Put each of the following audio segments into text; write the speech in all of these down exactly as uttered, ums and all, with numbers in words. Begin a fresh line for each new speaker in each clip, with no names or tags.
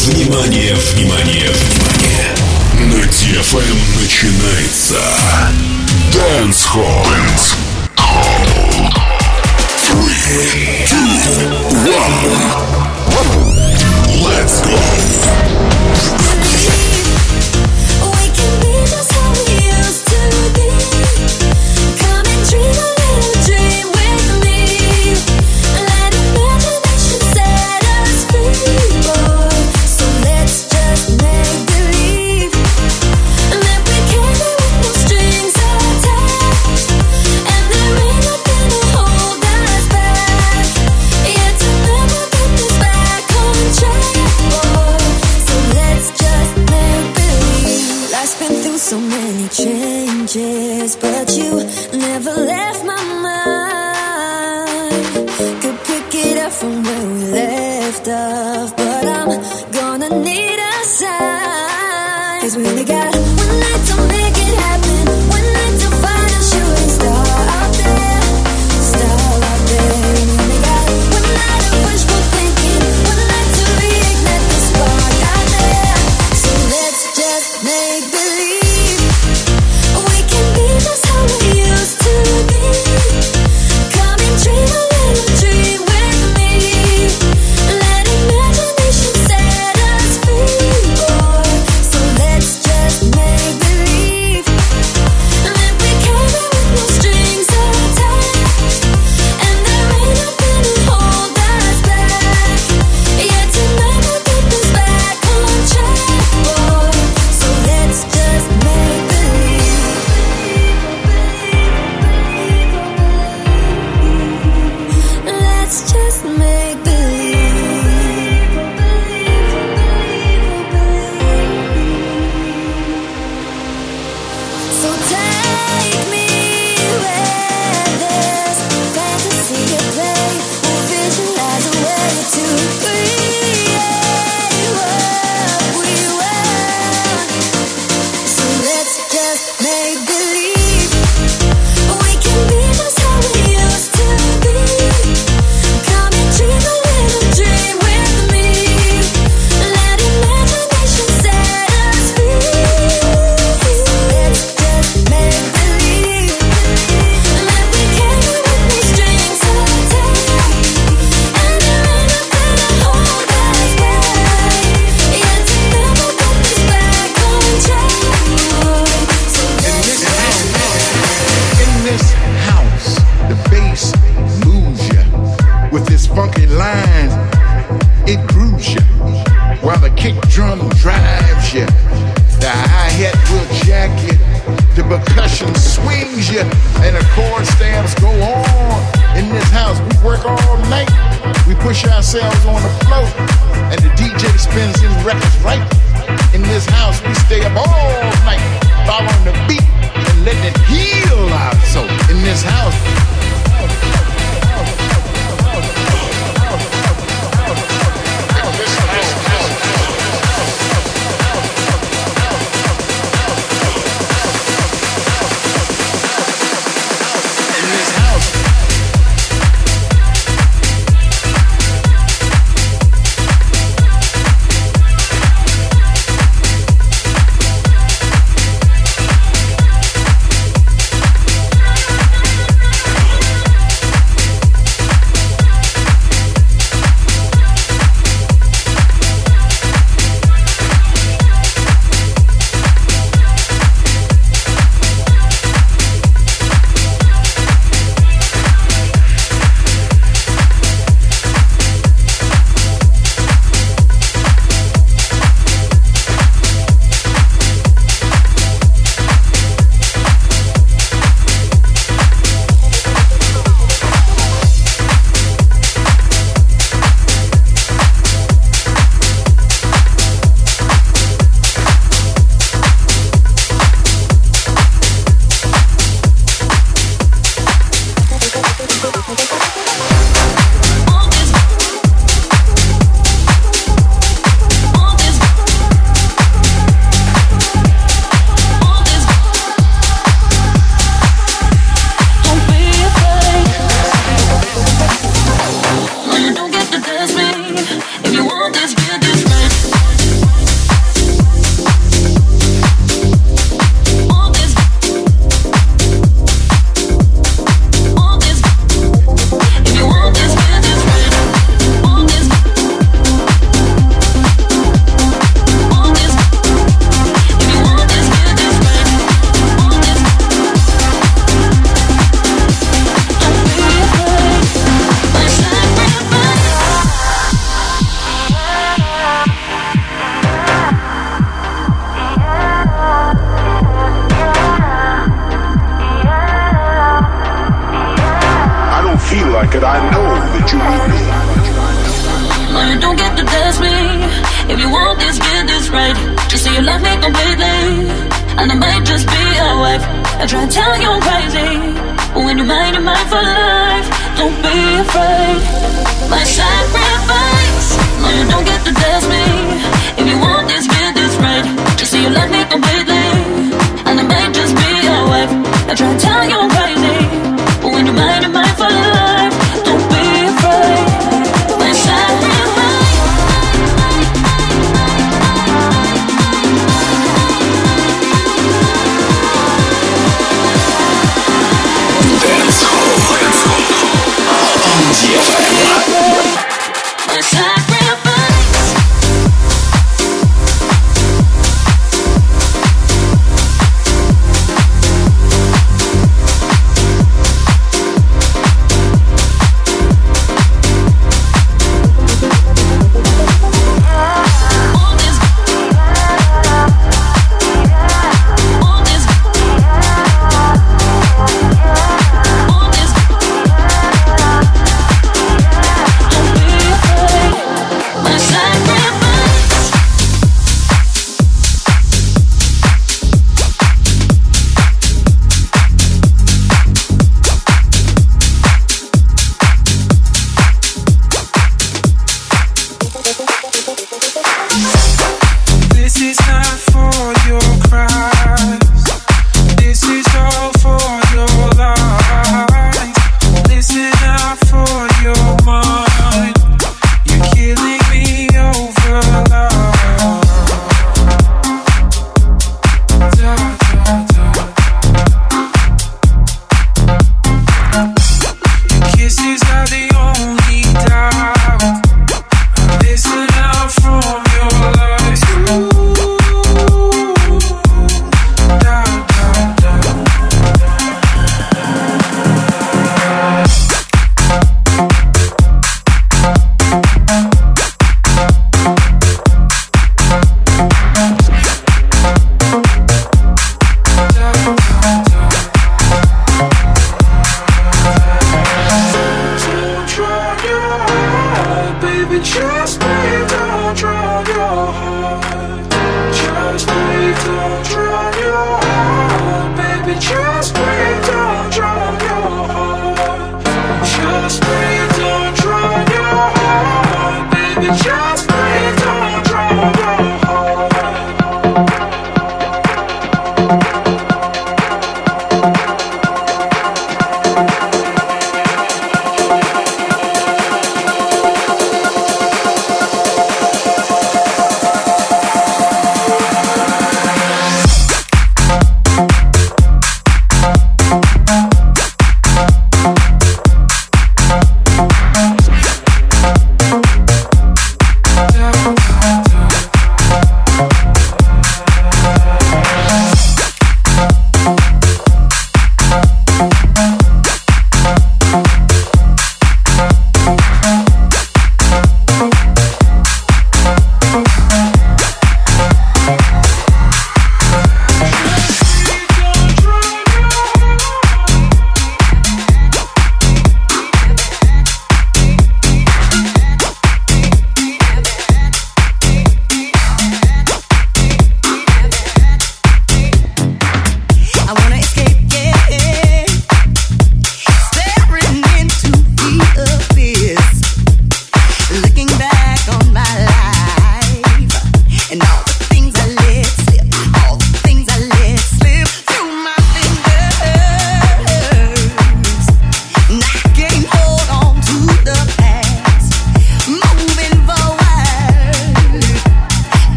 Внимание, внимание, внимание! На ди эф эм начинается Dance Hall. Dance Hall. Three, two, one. Let's go.
So many changes, but you never left my mind. Could pick it up from where we left off, but I'm gonna need a sign. 'Cause we only got one night to make it happen, one night to find a shooting star out there, star out there. We only got one night of wishful thinking, one night to reignite the spark out there. So let's just make believe. Just how we used to be. Come and dream a little dream with me. Let imagination set us free, boy. So let's just make believe that we carry with no strings attached, and there ain't nothing to hold us back. Yeah, tonight we'll get this back on track, boy. So let's just make believe. Just make believe. So take me where there's fantasy at play. We'll visualize a way to create what we were. So let's just make believe we can be just how we used to be. Dream a little dream with me. Let imagination set us free. Let's just make believe that we carry with no strings attached, and there ain't nothing to hold us back. Yeah, together we'll get this back on track. So let's
in this house, the bass moves ya with its funky lines, it grooves you, while the kick drum drives you. The hi-hat will jack you, the percussion swings you, and the chord stamps go on. In this house, we work all night, we push ourselves on the floor, and the D J spins his records right. In this house, we stay up all night, following the beat and letting it heal our soul. In this house,
don't get to test me. If you want this, get this right. Just say you love me completely, and I might just be your wife. I try to tell you I'm crazy, but when you're mine, you're mine for life. Don't be afraid. My sacrifice. No, you don't get to test me. If you want this, get this right. Just say you love me completely, and I might just be your wife. I try to tell you I'm crazy, but when you're mine, you're mine for life. Don't be afraid. My sacrifice.
Dance Hall.
My sacrifice.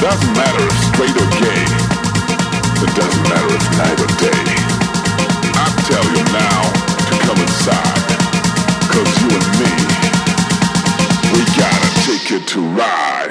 doesn't matter if straight or gay. It doesn't matter if night or day. I tell you now to come inside. Cause you and me, we gotta take it to ride.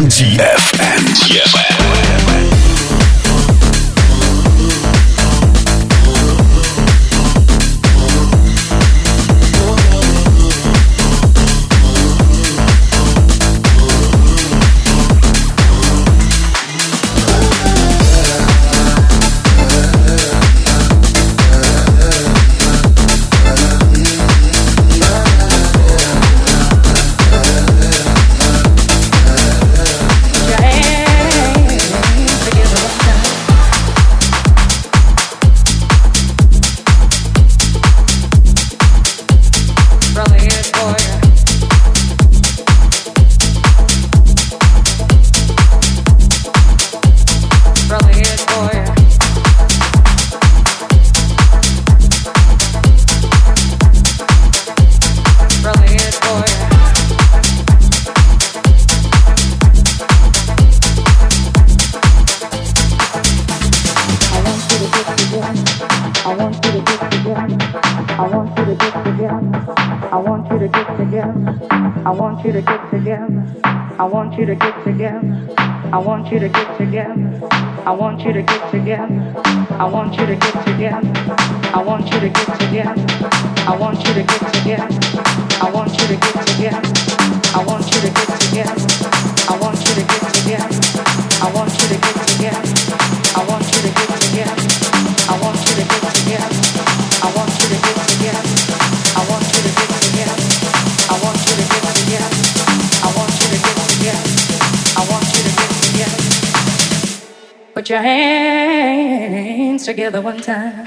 T F M. T F M.
Put your hands together one time.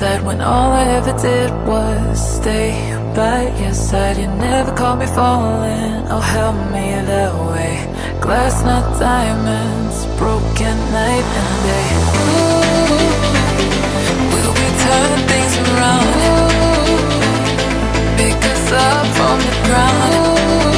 side when all I ever did was stay by your side. You never caught me falling, oh help me that way. Glass not diamonds, broken night and day. Ooh, we'll be turning things around. Pick us up from the ground.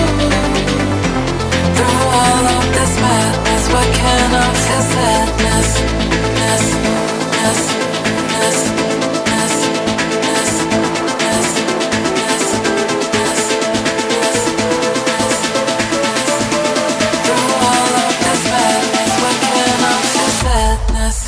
Through all of this madness, why can't I feel sadness? Ness, ness, ness, ness, ness, ness, ness, ness, ness, ness. Through all of this madness, why can't I feel sadness?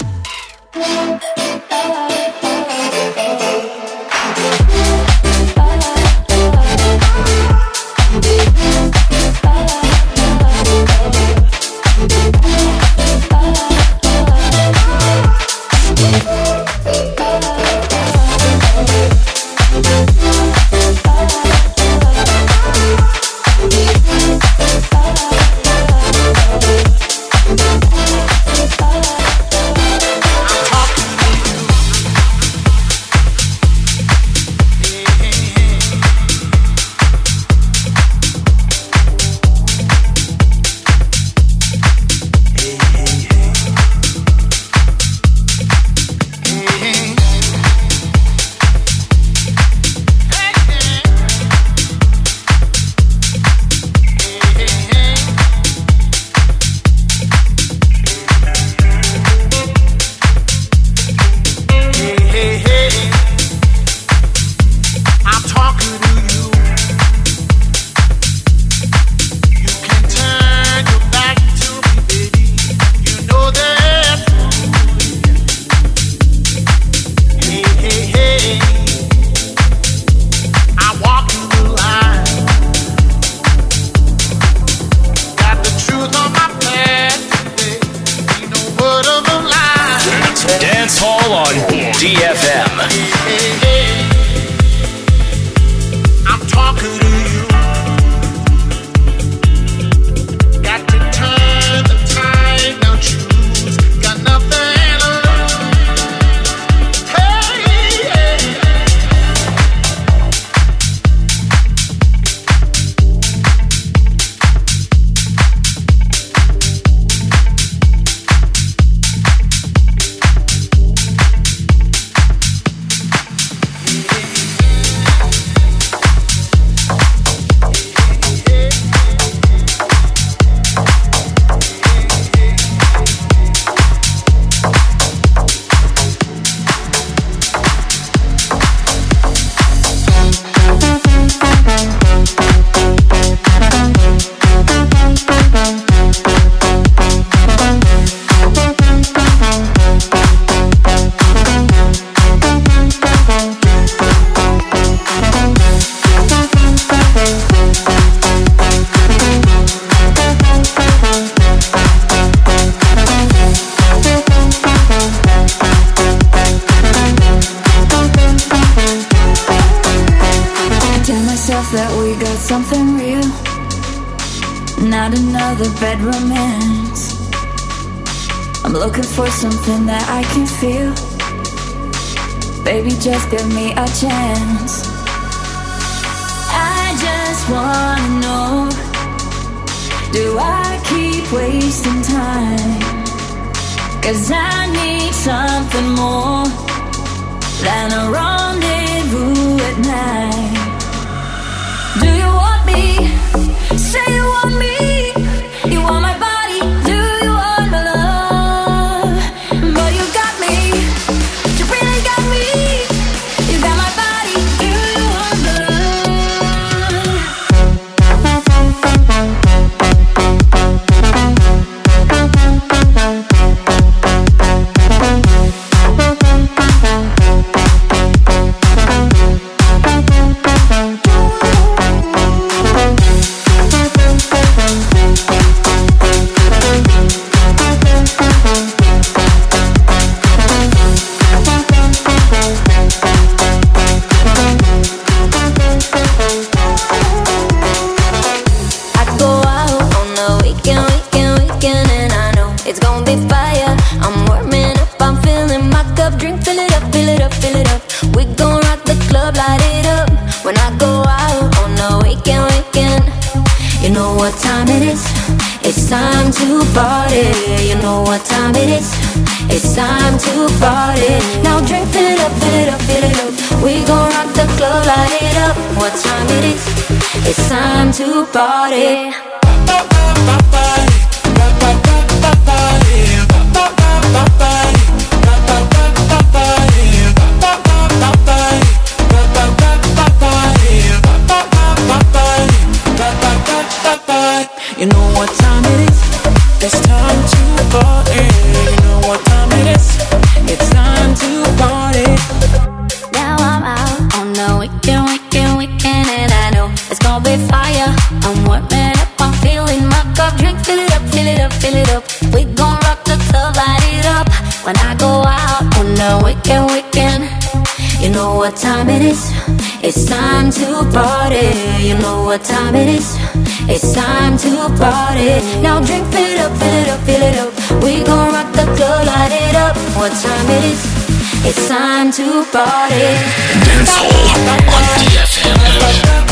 Bad romance. I'm looking for something that I can feel. Baby, just give me a chance. I just wanna know, do I keep wasting time? 'Cause I need something more than a rendezvous at night. Do you want me? Say you want me. You want my body, do you want my love? But you got me, you really got me. You got my body, do you want my love? what time it is? It's time to party. You know what time it is? It's time to party. Now drink, fill it up, fill it up, fill it up. We gon' rock the club, light it up. What time it is? It's time to party.
You know what time it is? It's time to party. You know what time it is? It's time to party.
Now I'm out on the weekend, weekend, weekend, and I know it's gonna be fire. I'm warming up, I'm feeling my cup. Drink, fill it up, fill it up, fill it up. We gon' rock the club, light it up. When I go out on the weekend, weekend, you know what time it is? It's time to party. You know what time it is? It's time to party. Now drink, fill it up, fill it up, fill it up. We gon' rock the club, light it up. What time it is? It's time to party.
Dancehall on D F M.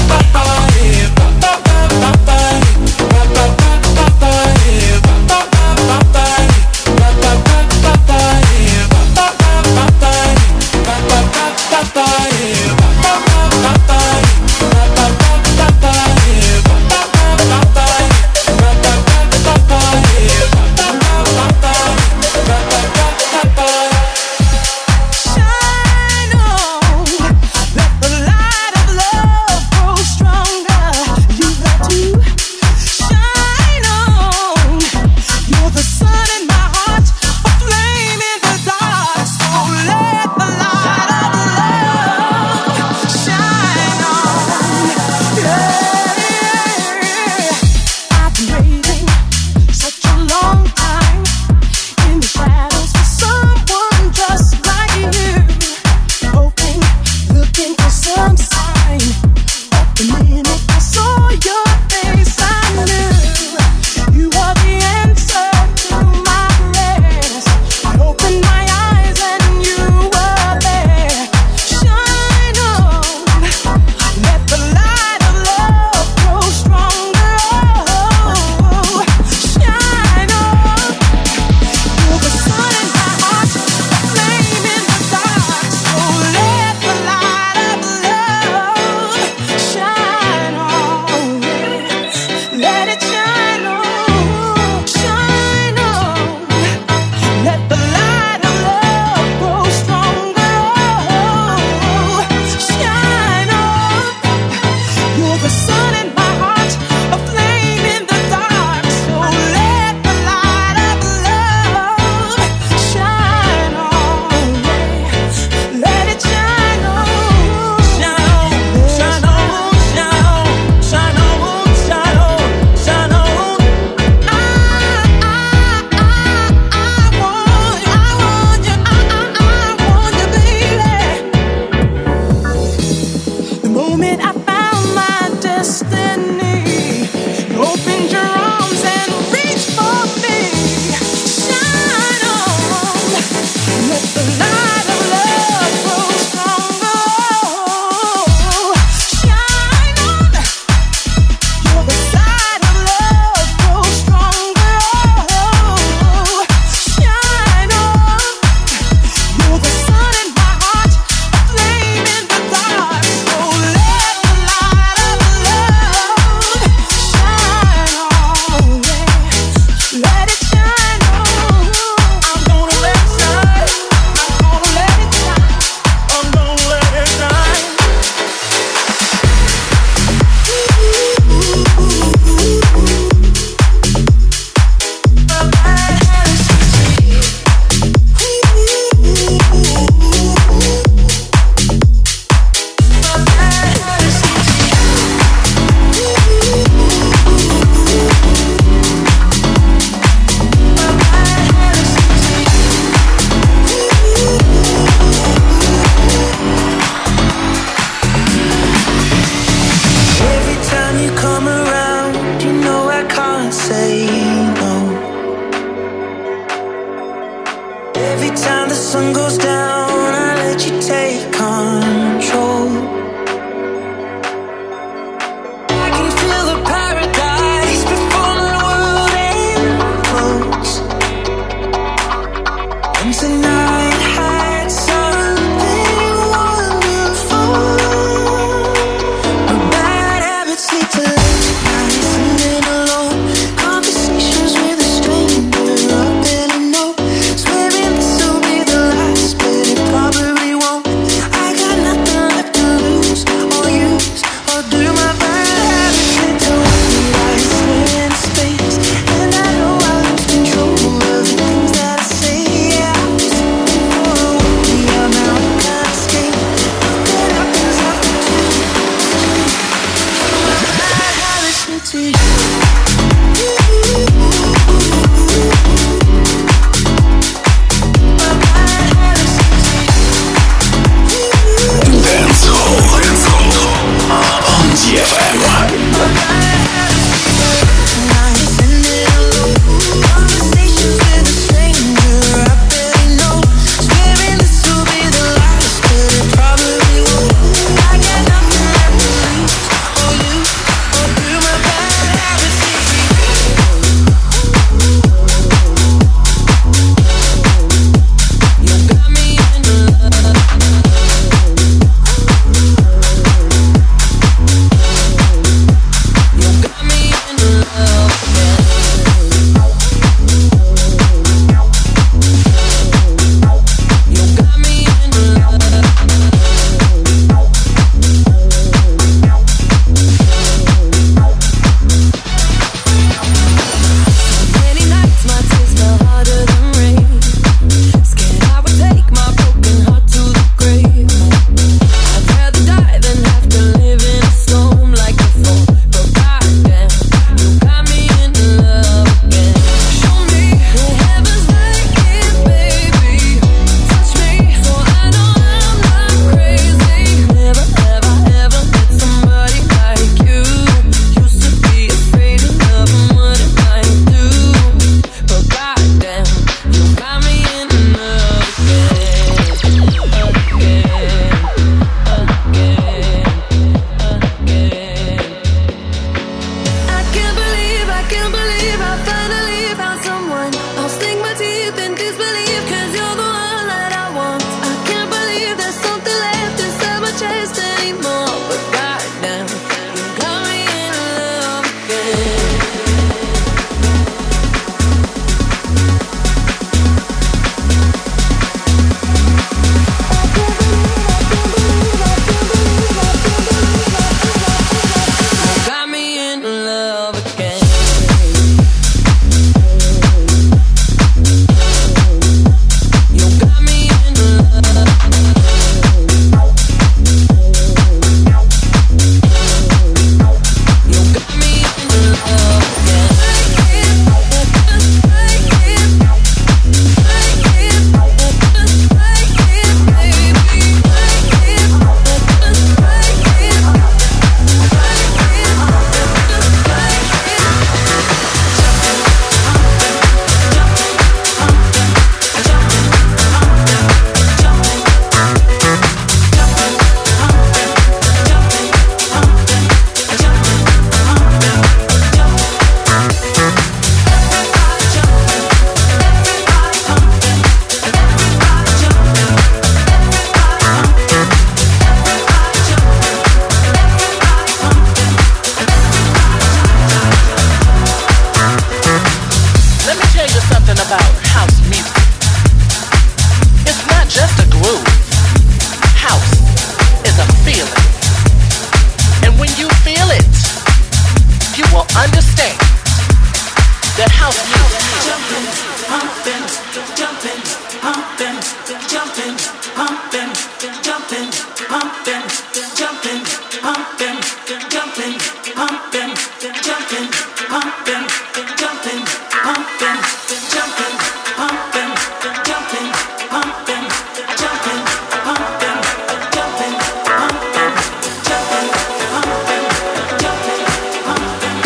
feeling. And when you feel it, you will understand that house music.
Jumping, pumping, jumping, pumping, jumping, pumping, jumping, pumping, jumping, pumping, jumping, pumping, jumping, pumping, jumping, pumping, jumping, pumping, jumping, pumping, jumping, pumping, jumping, pumping, jumping, pumping, jumping, pumping,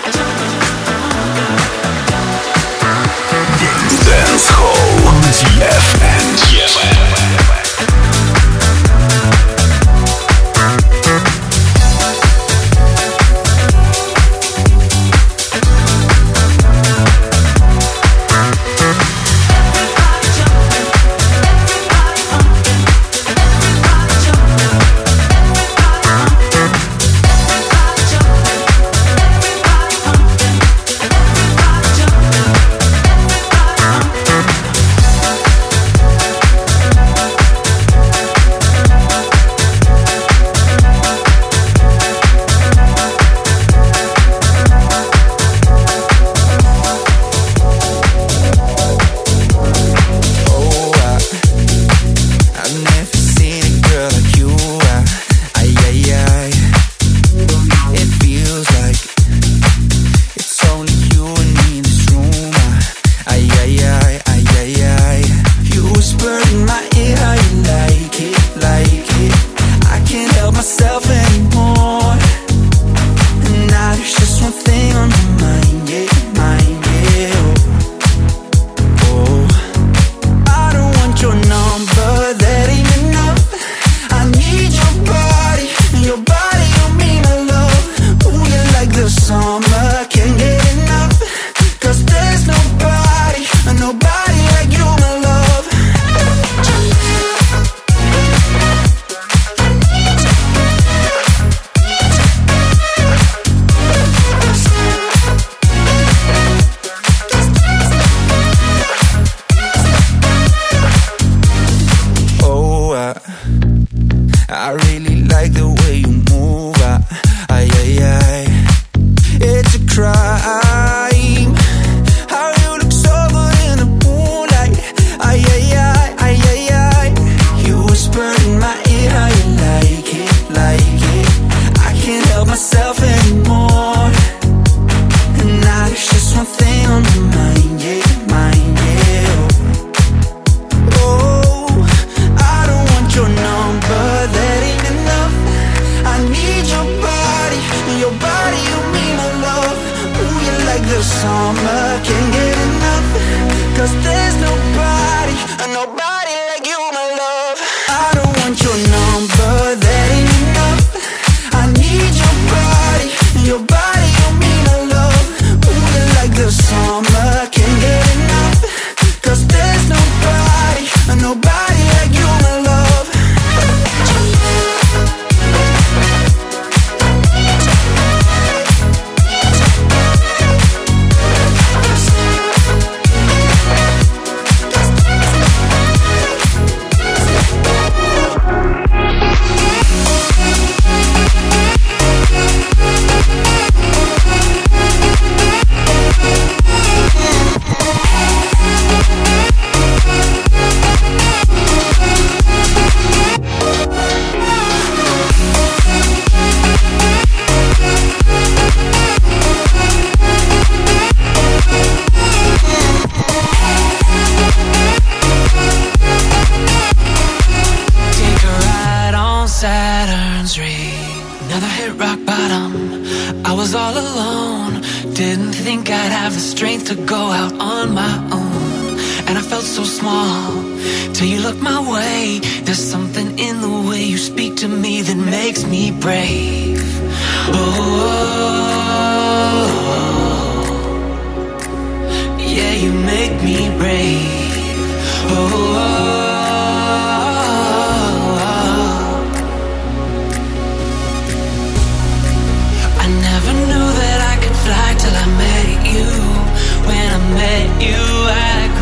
Dance Hall on D F M.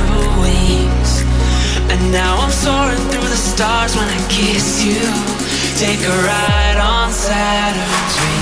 Now I'm soaring through the stars when I kiss you. take a ride on Saturn's rings.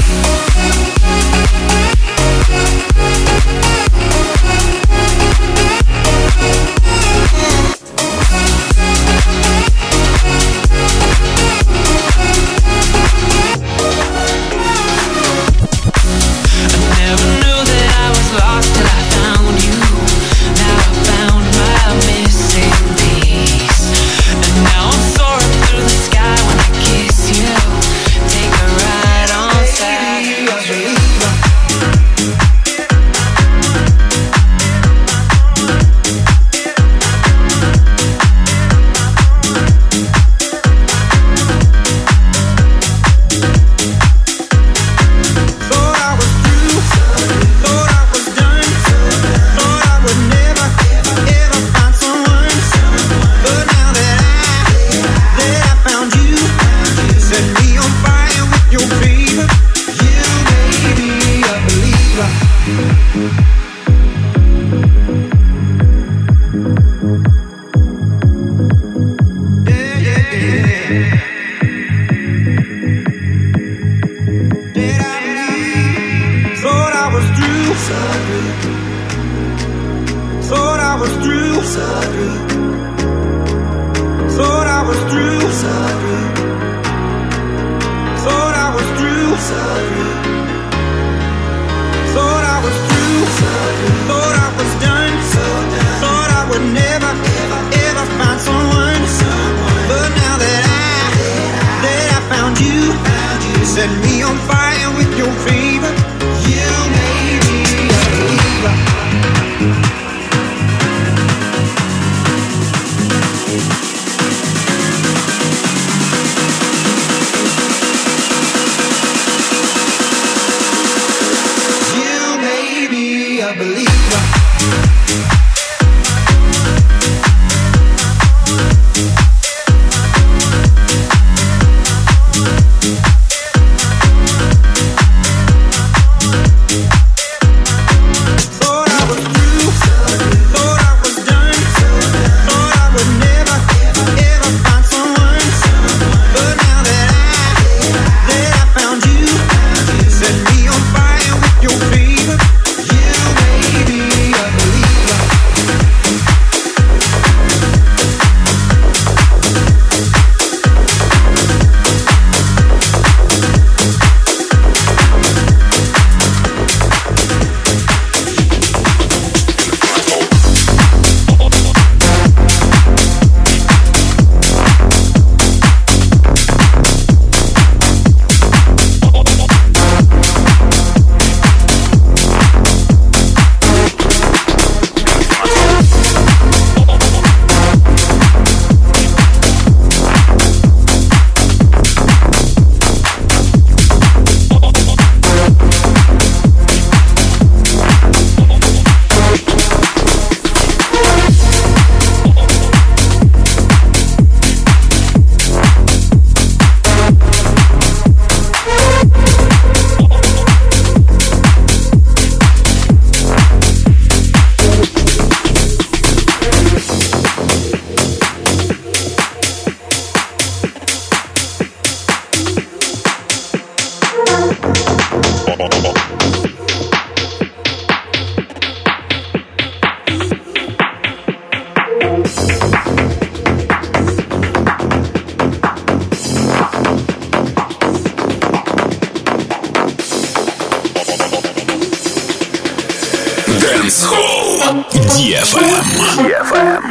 ди эф эм. ди эф эм.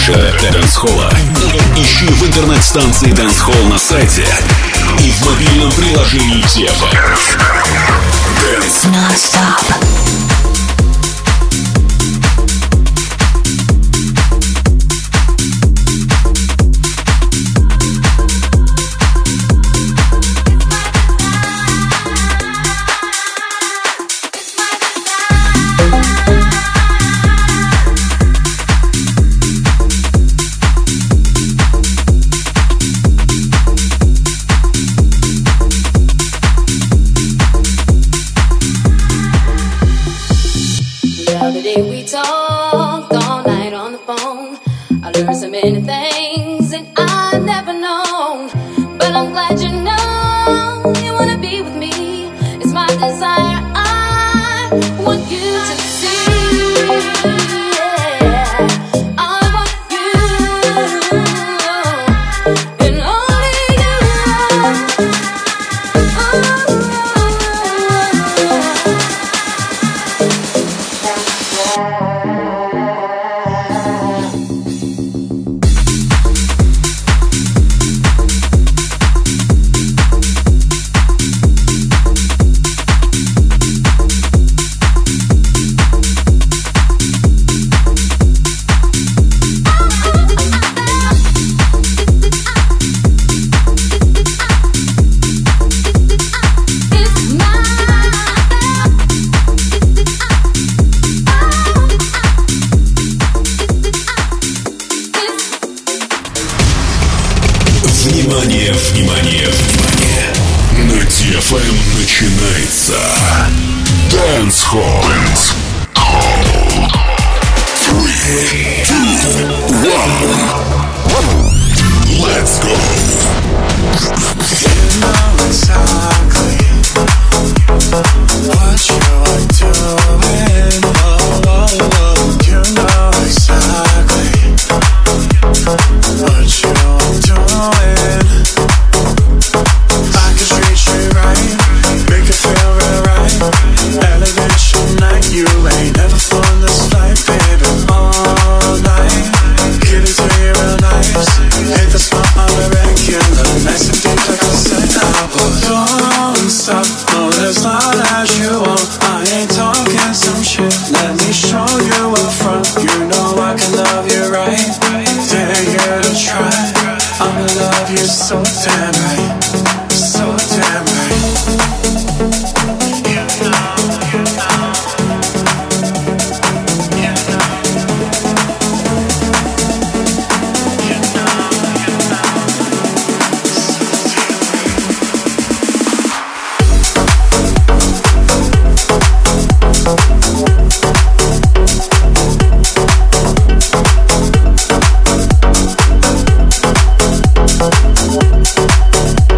Больше дэнс-холла ищи в интернет-станции Dancehall на сайте и в мобильном приложении ди эф эм. Dance Non-Stop.
Внимание, внимание, внимание! На ди эф эм начинается Dance Hall. Dance Hall. Three, two, one. Let's go. You know exactly what you're doing. Oh, oh, oh. You know exactly what you're doing. I can treat you right, make you feel real right. Elevation night, you ain't never flown this flight, baby. All night, give it to you real nice. Hit the spot on the regular, nice and deep like I said I would. Don't stop, no, as long as you want. I ain't talking some shit, let me show you up front. You know I can love you right, dare you to try. I'ma love you so damn right, so damn right. You know, you know, you know, you know, you know, so damn right.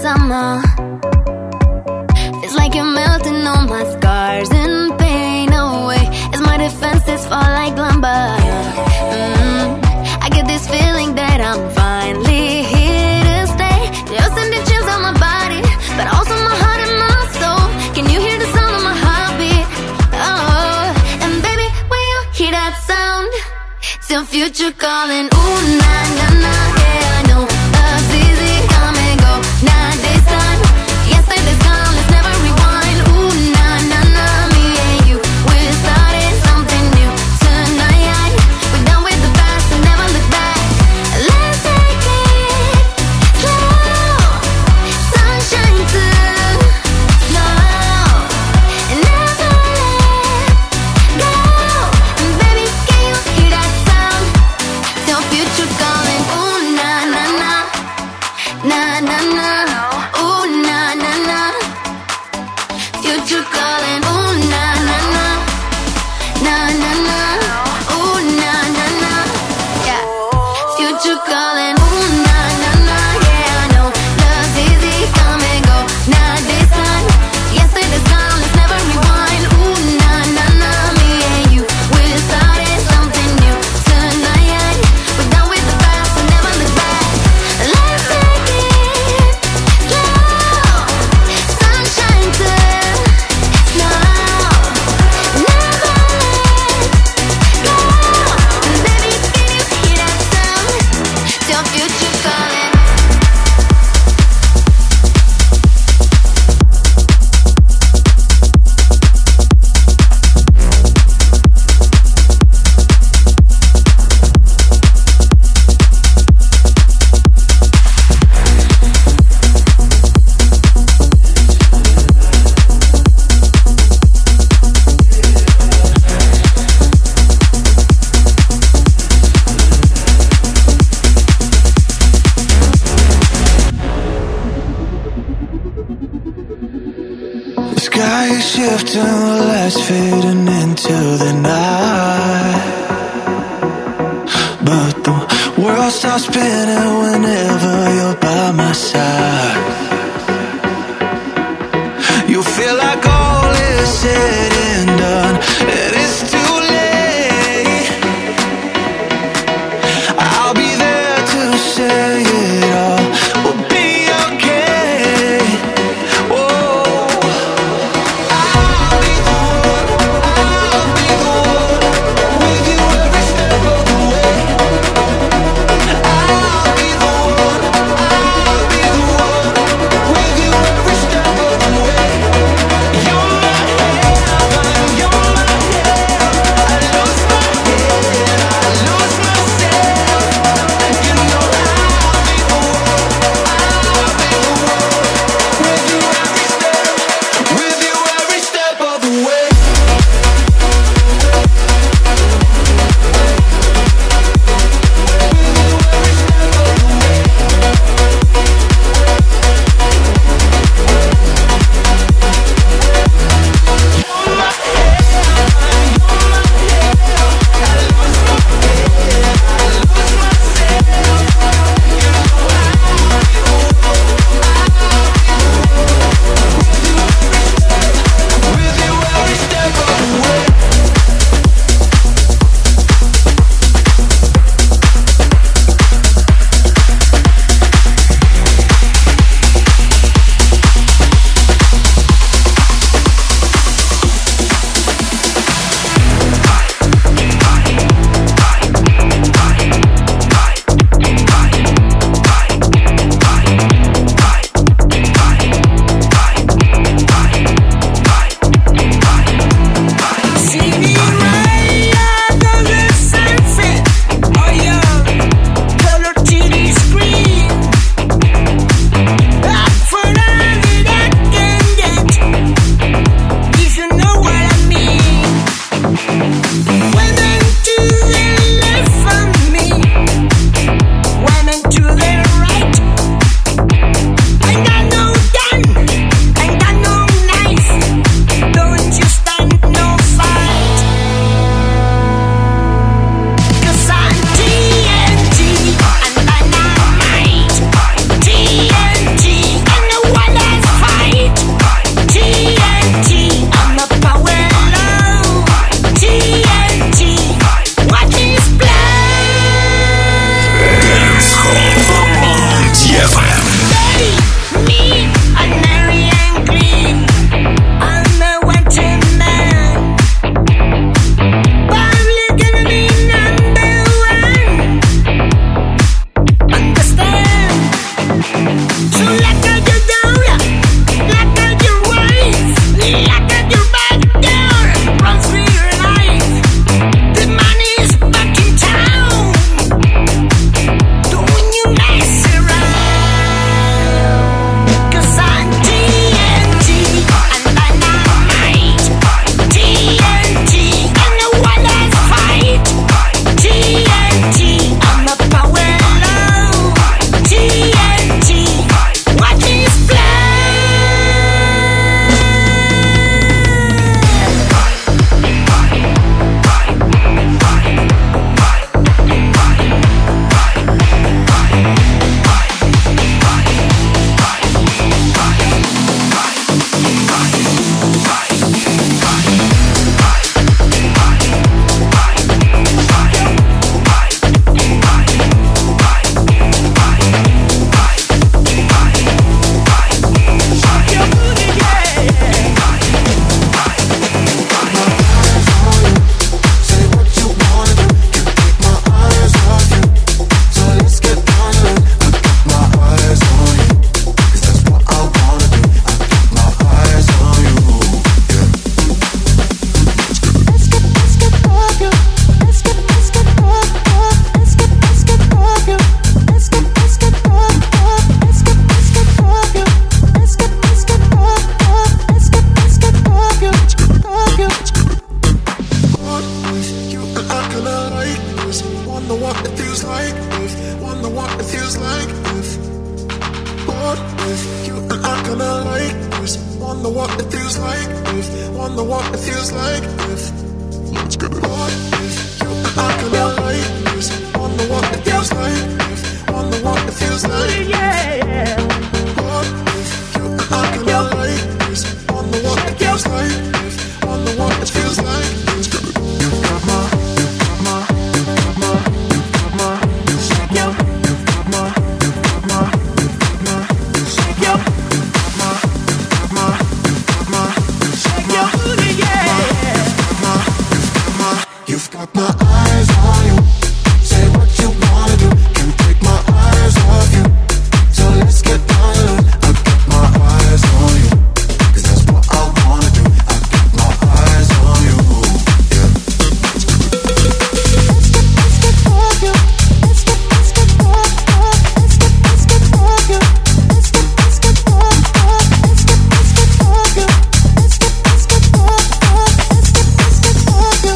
summer. It's like you're melting all my scars and pain away as my defenses fall like lumber. Mm-hmm. I get this feeling that I'm finally here to stay. You're sending chills on my body, but also my heart and my soul. Can you hear the sound of my heartbeat? Oh, and baby, when you hear that sound, it's your future calling. Ooh, na na na, yeah, I know love's easy, come and go. Not this time, yesterday's gone, let's never rewind. Ooh, na na na, me and you, we're starting something new tonight. We're done with the past and never look back. Let's take it slow, sunshine too slow, and never let go. And baby, can you hear that sound? It's your future calling. Ooh, na na na, na na na. Ooh, na na na, future calling. Ooh, na na na, na na na. Ooh, na na na, yeah, future calling. Ooh, na na na, yeah, I know love's easy, come and go. Not this time, yesterday's gone, let's never rewind. Ooh, na na na, me and you, we're starting something new tonight. We're done with the past and never look back. Let's take it slow, sunshine too slow, never let go. And baby, can you hear that sound? It's your future calling.
The sky is shifting, the lights fading into the night, but the world stops spinning whenever you're by my side. You feel like all is said and done, and it's too late. I'll be there to say it all will be okay. Whoa. I'll be the one, I'll be the one, with you every step of the way. I'll be the one, I'll be the one. if you and I gonna like this? Wonder what it feels like if, wonder what it feels like if. Let's get it. What if you and I gonna like this? Wonder what it feels like if, wonder what it feels like. Yeah. What if you and I gonna like this? Wonder what it feels like if, wonder what it feels like. Let's get it. You got my, you got my, you got my, you got my, shake your, you got my, you got my, you got my, shake your, you got my, you got my, you got my, shake your booty, yeah. You've got my eyes on you. Say what you wanna do. Can't take my eyes off you. So let's get down to it. I got my eyes on you. Cause that's what I wanna do. I got my eyes on you. Yeah. Let's get, let's get for you. Let's get, let's get for you. Let's get, let's get for you. Let's get, let's get for you. Let's get, let's get for you. Let's get, let's get for you. Let's get, let's get for you.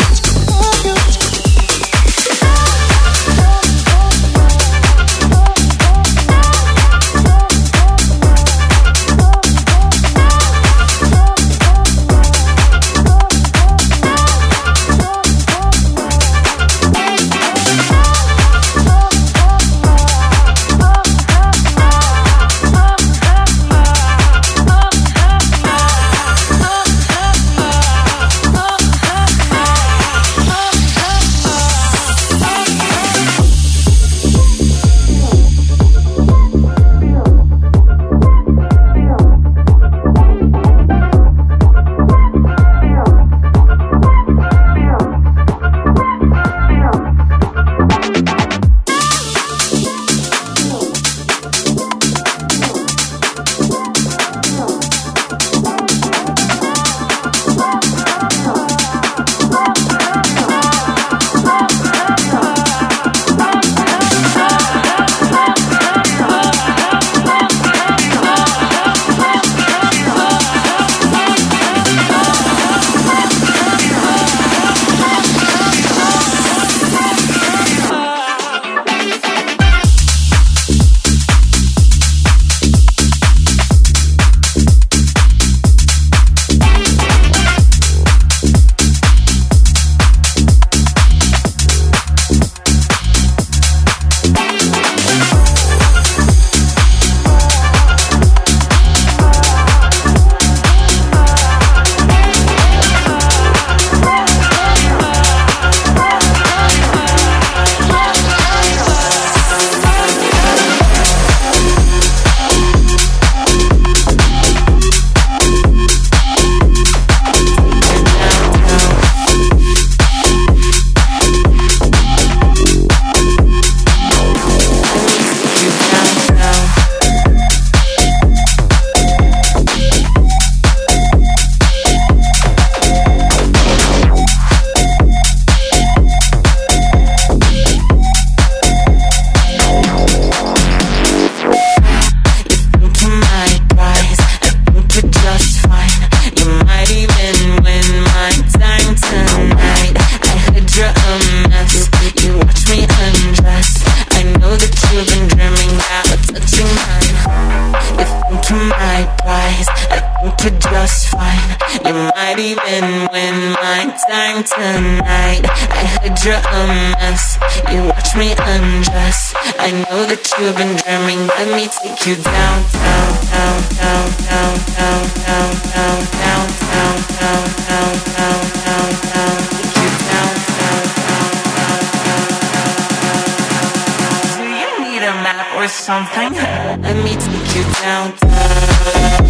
Tonight, I heard you're a mess. You watch me undress. I know that you've been dreaming. Let me take you down, down, down, down, down, down, down, down, down, down, down, down, down, down, down. Take you down, down, down, down, down, down, down. Do you need a map or something? Let me take you down, down.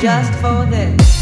just for this.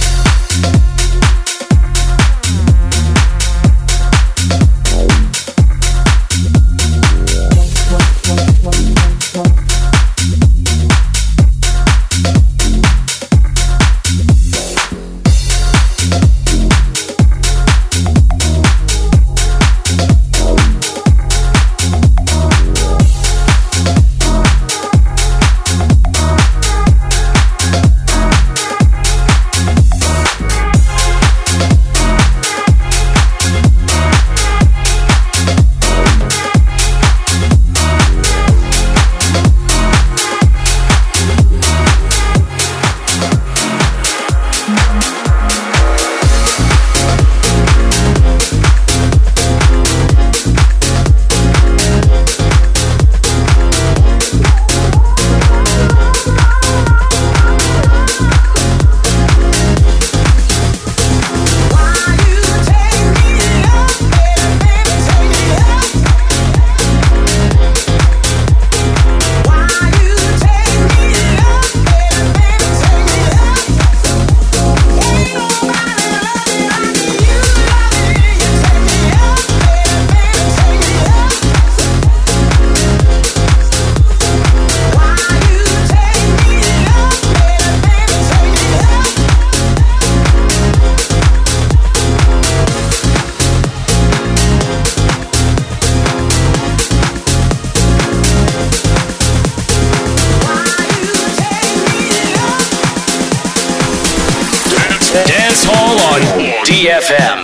Dance Hall on D F M.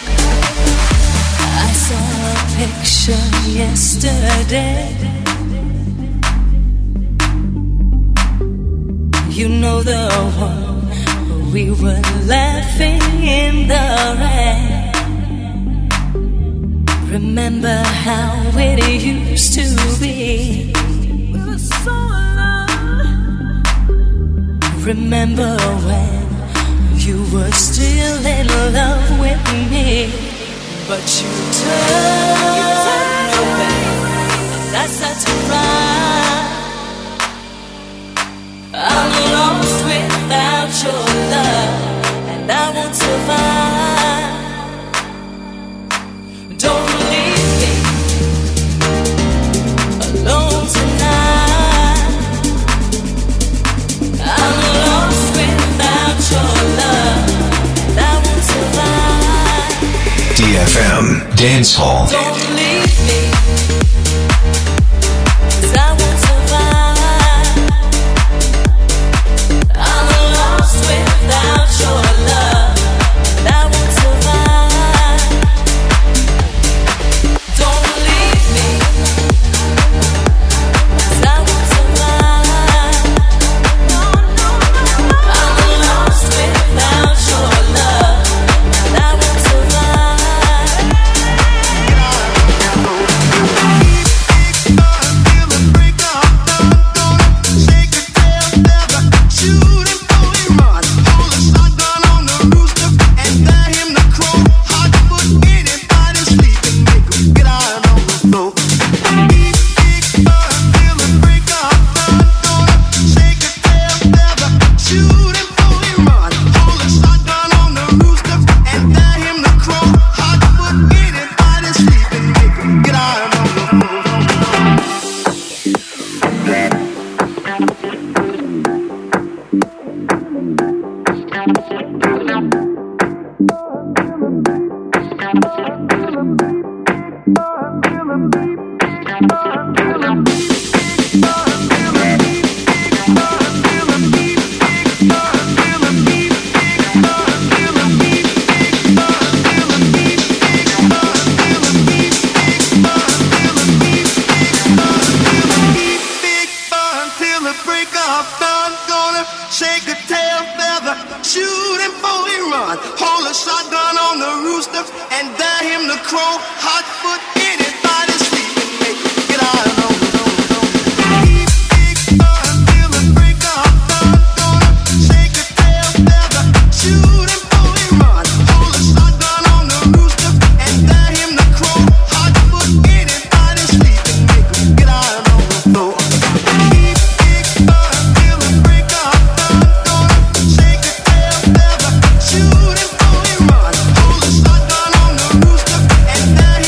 Yesterday
You know the one we were laughing in the rain. Remember how it used to be. We were so alone. Remember when you were still in love with me, but you turned away. That's such a crime. I'm lost without your love, and I won't survive. Don't leave me alone tonight. I'm lost without your love, and I won't survive.
D F M Dance Hall.
Don't leave me, 'cause I won't survive. I'm lost without your love, and I won't survive. Don't leave me, 'cause I won't survive. I'm lost without your love, and I won't survive.
Shoot him, boy, run. Hold a shotgun on the rooster and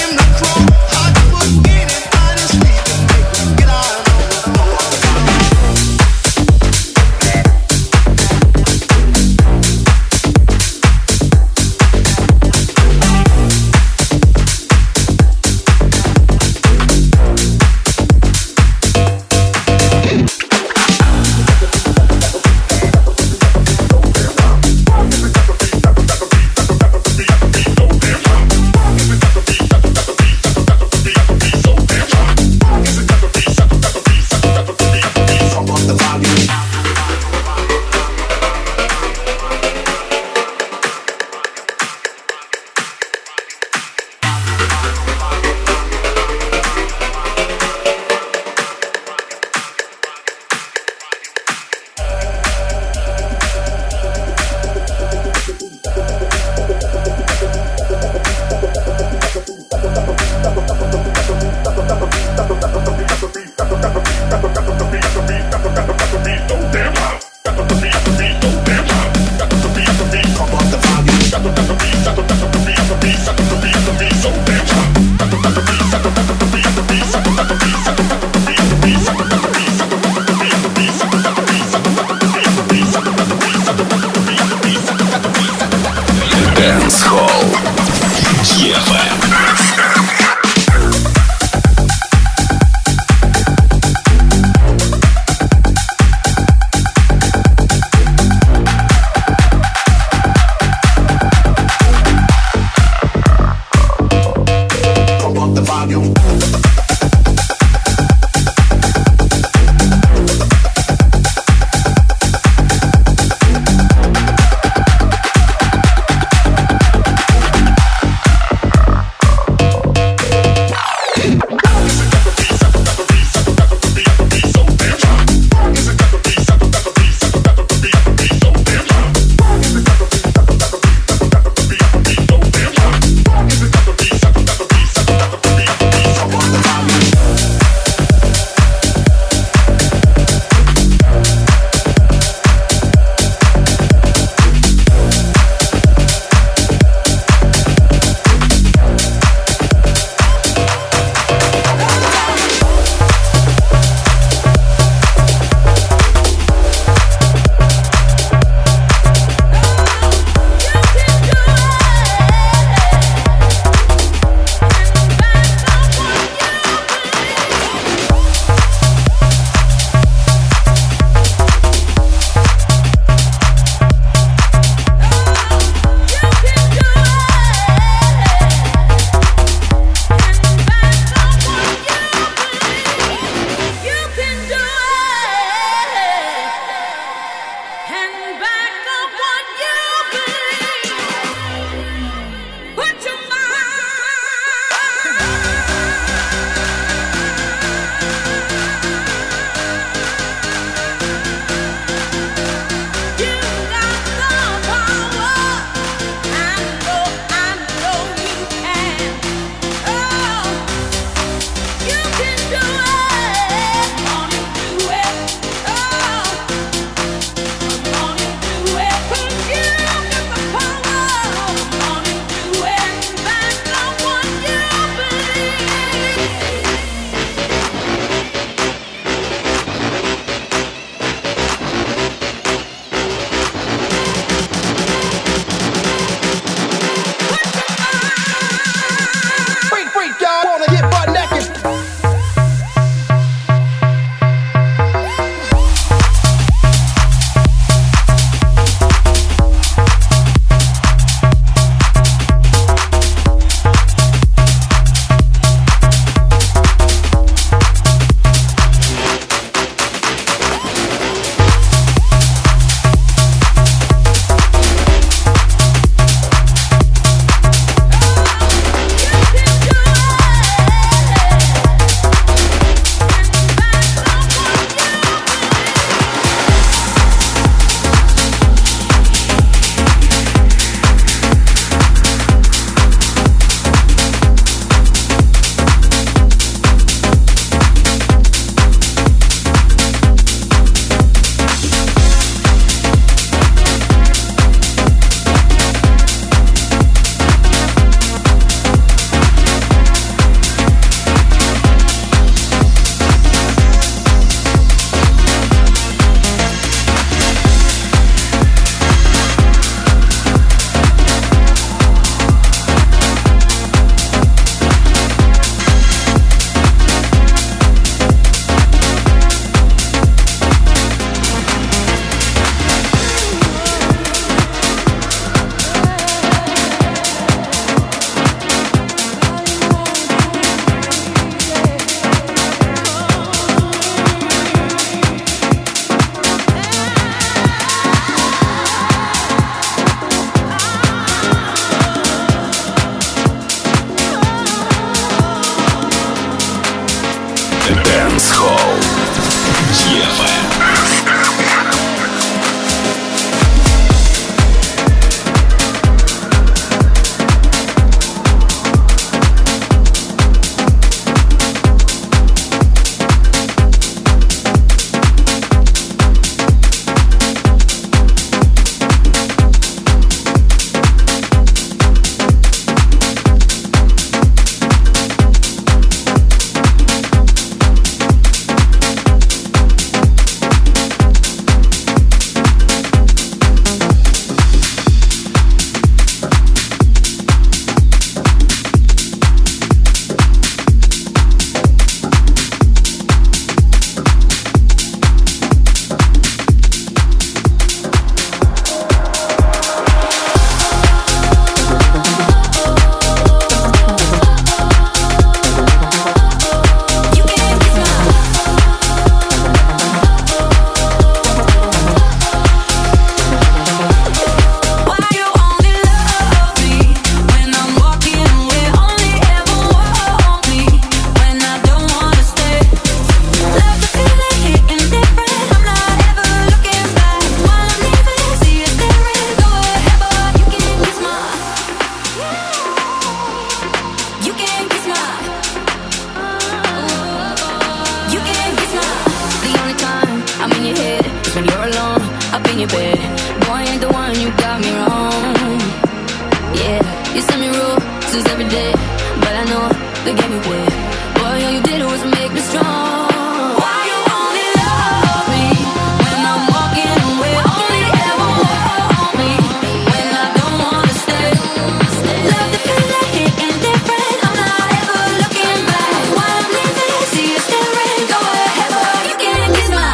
up in your bed. Boy, ain't the one, you got me wrong. Yeah, you send me roses every day, but I know they get me there. Boy, all you did was make me strong. Why you only love me when I'm walking away? Only ever want me when I don't wanna stay. Love the feeling, hitting different. I'm not ever looking back. While I'm leaving, see you staring. Go ahead, boy, you can kiss my.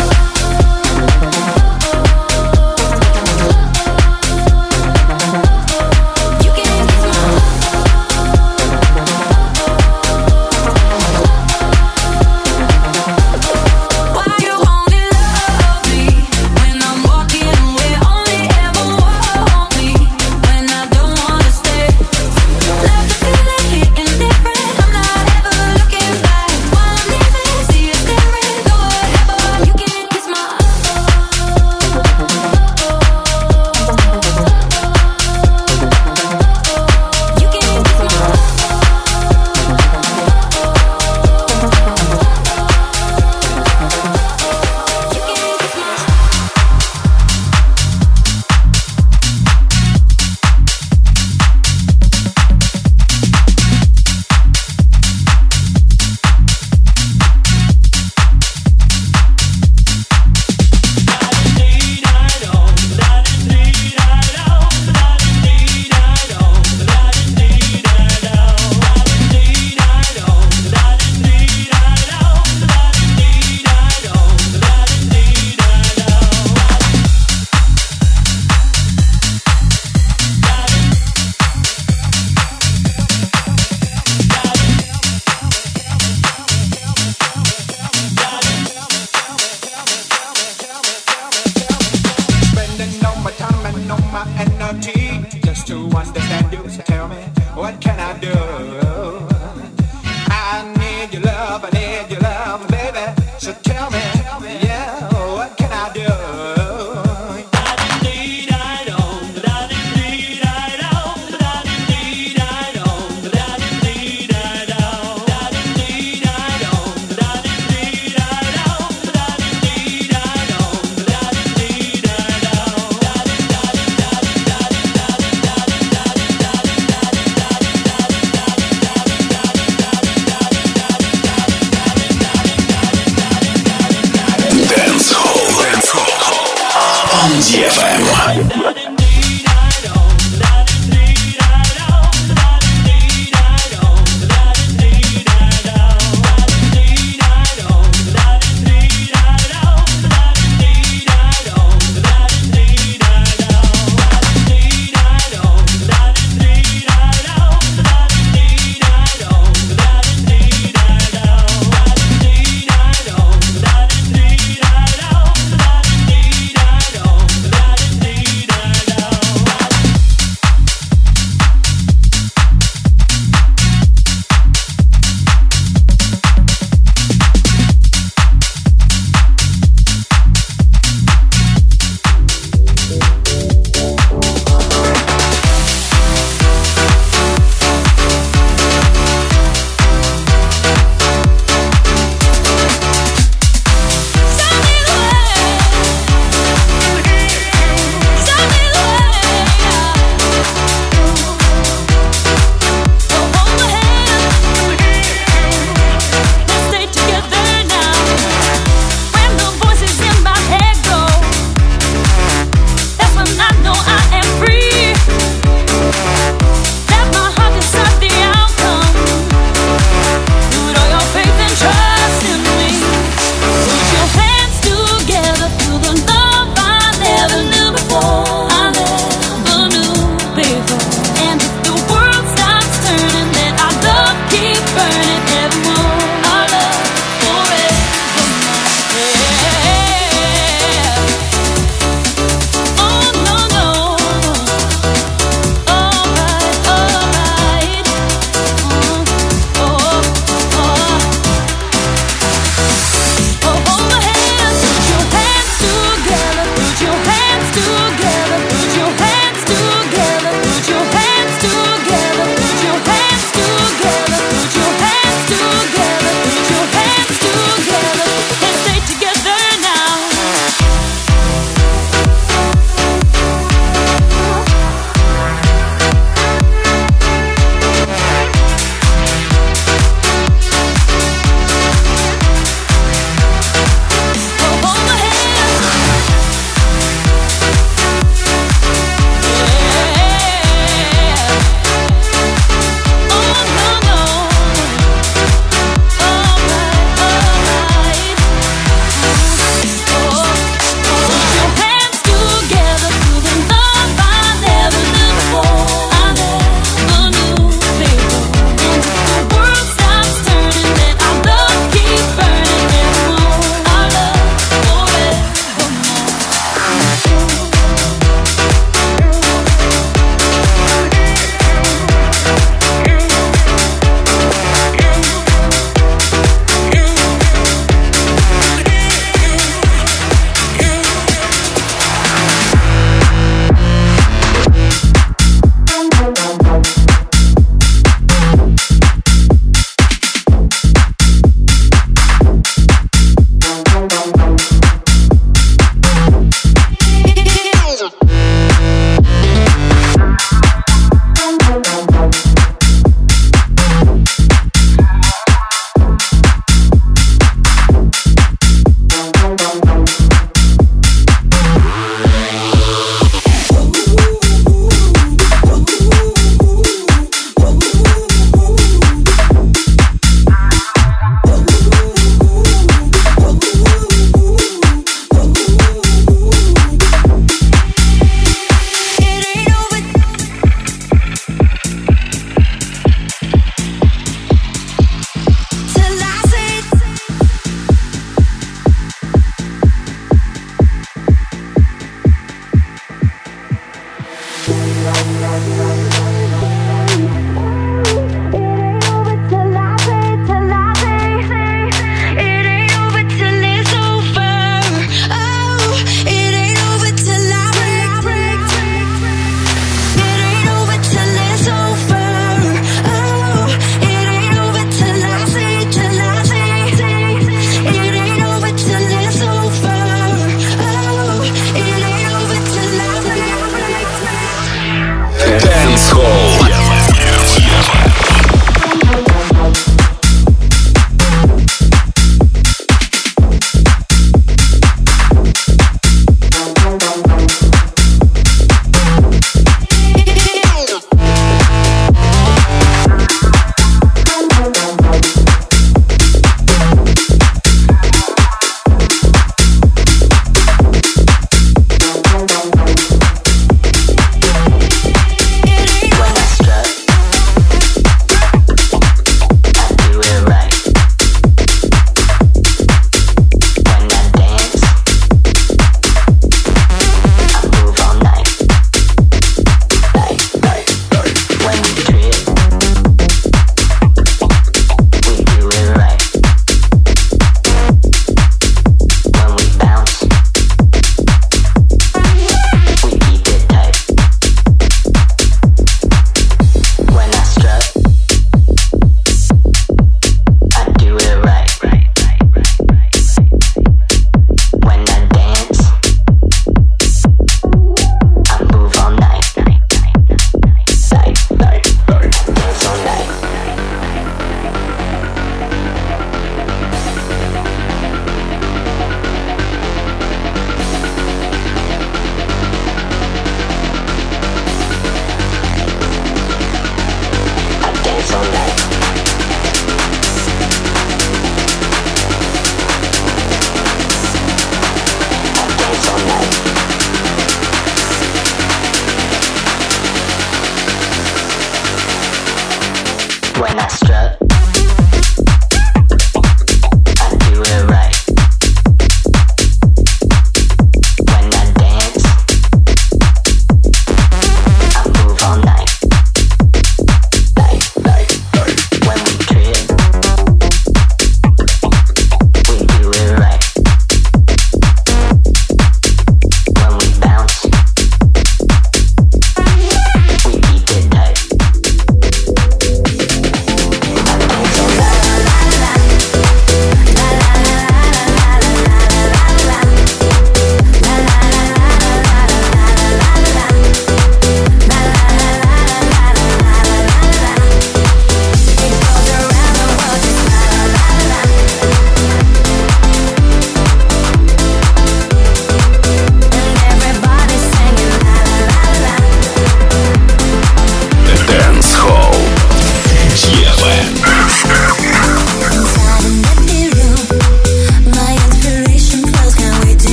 ди эф эм.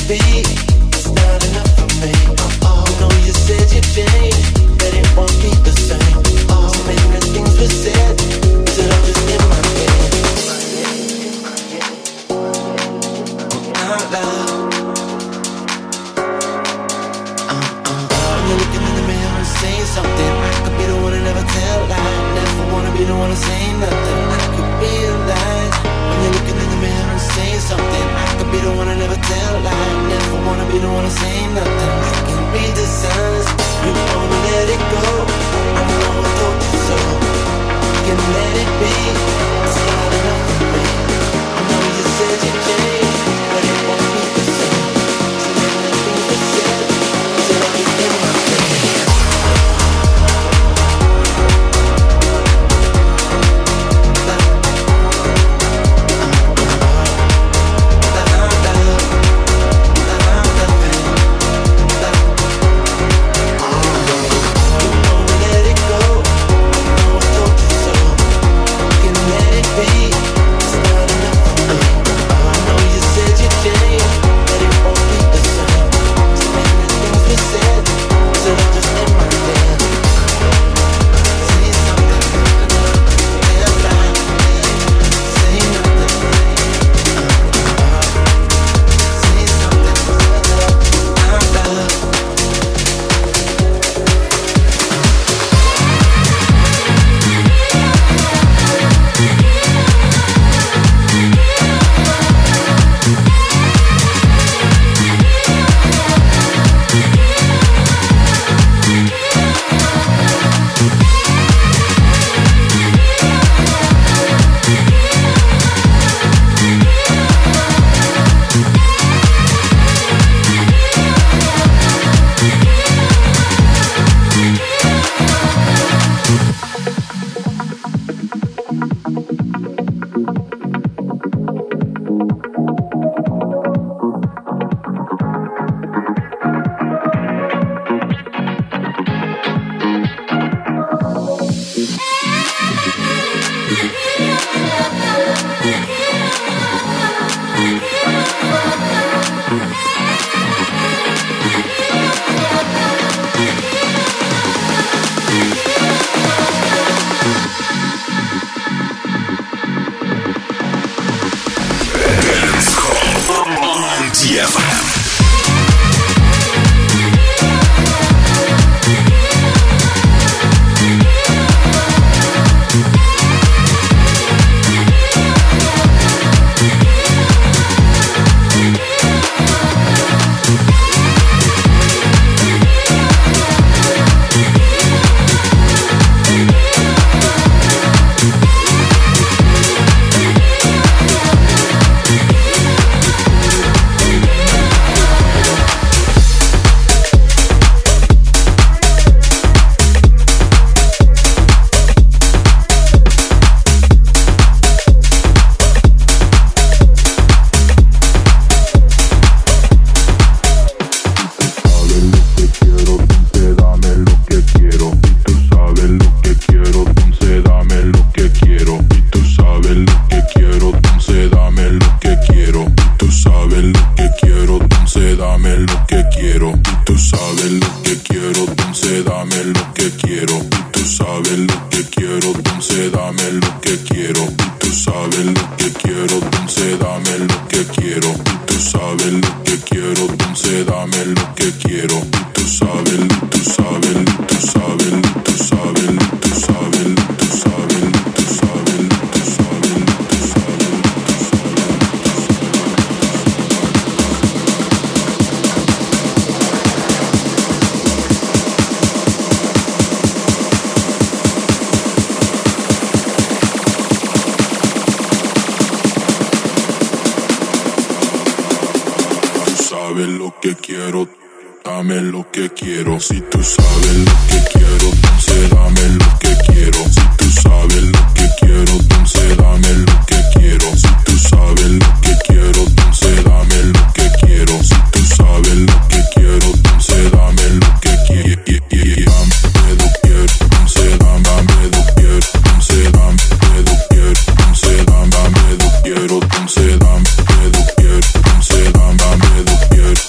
Quiero, se dame, me despierto, se dame, me despierto.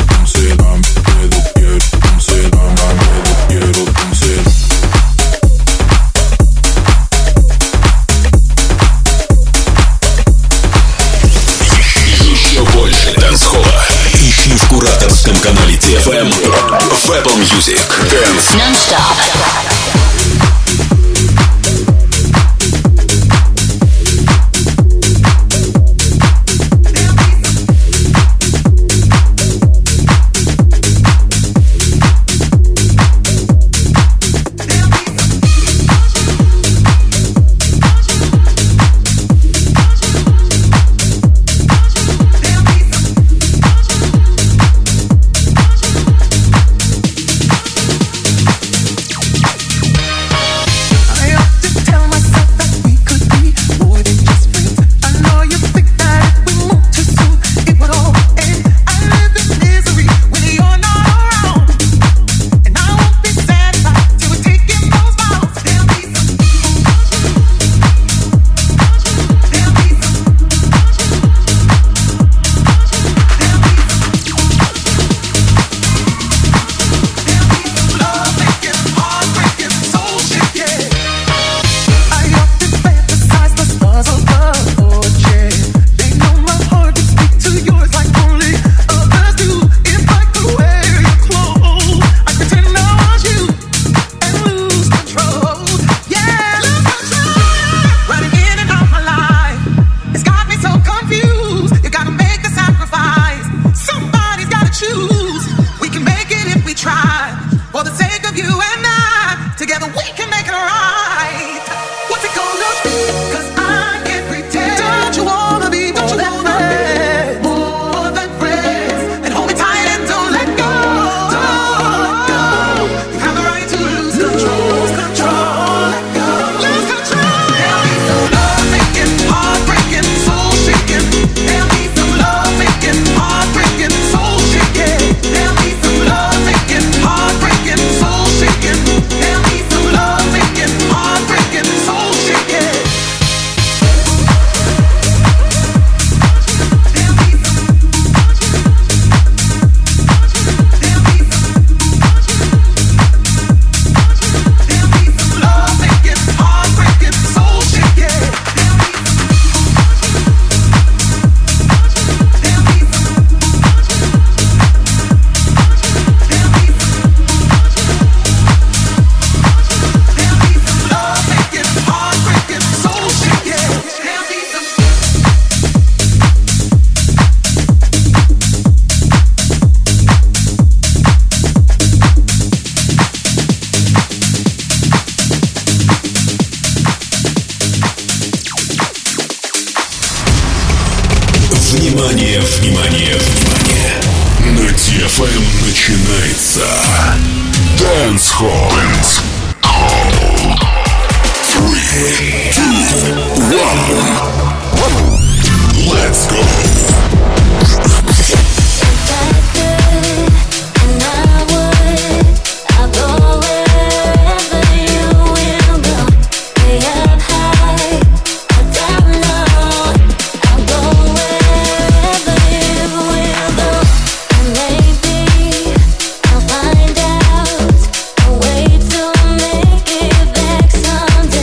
телеграм-канале ди эф эм, в Apple Music. Dance
Non-stop.
Внимание, внимание, внимание. На ди эф эм начинается Dance Hall. Dance Hall. Three, two, one. Let's go.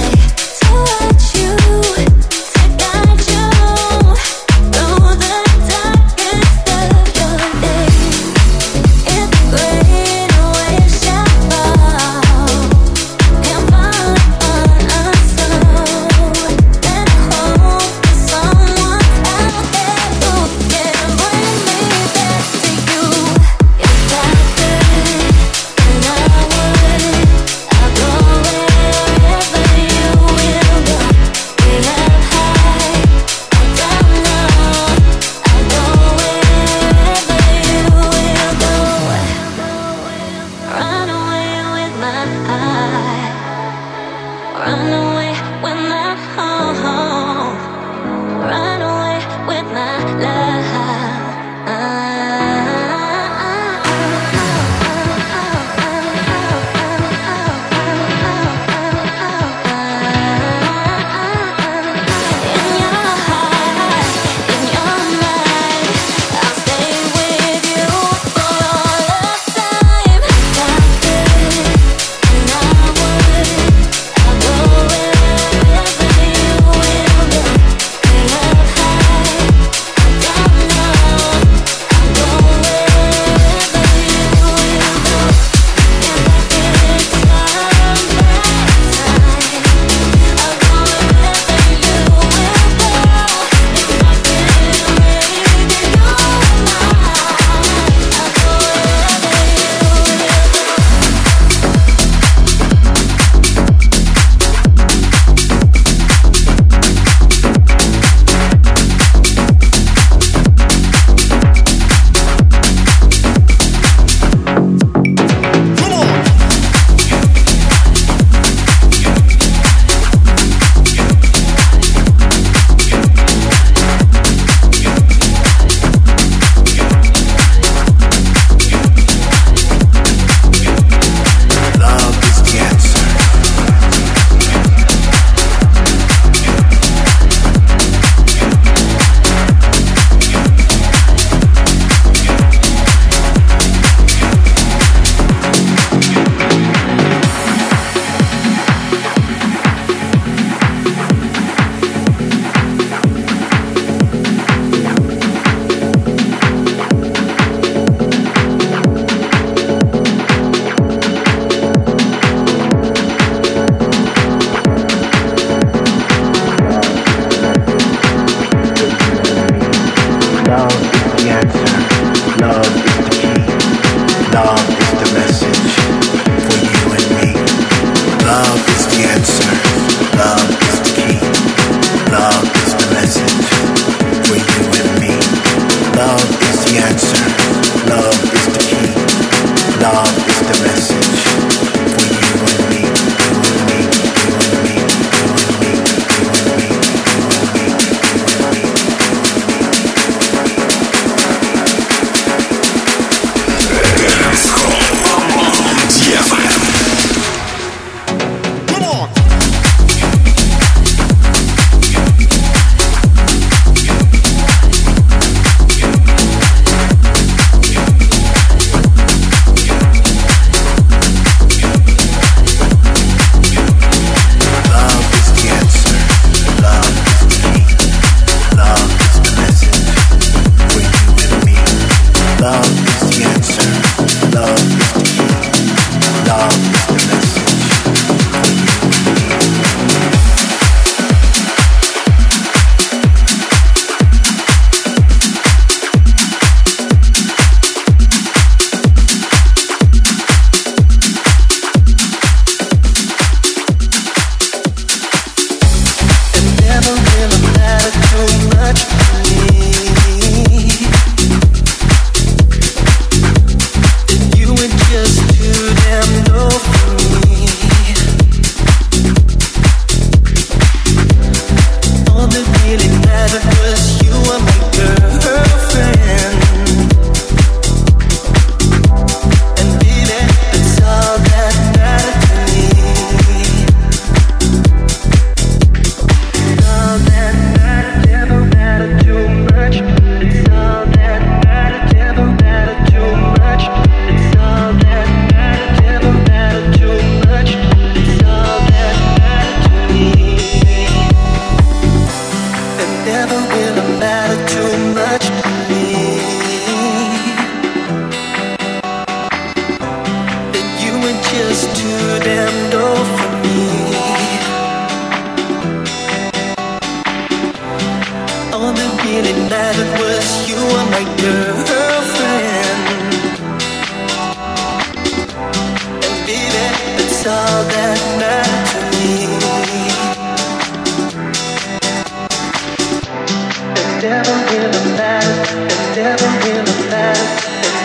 To guide you through the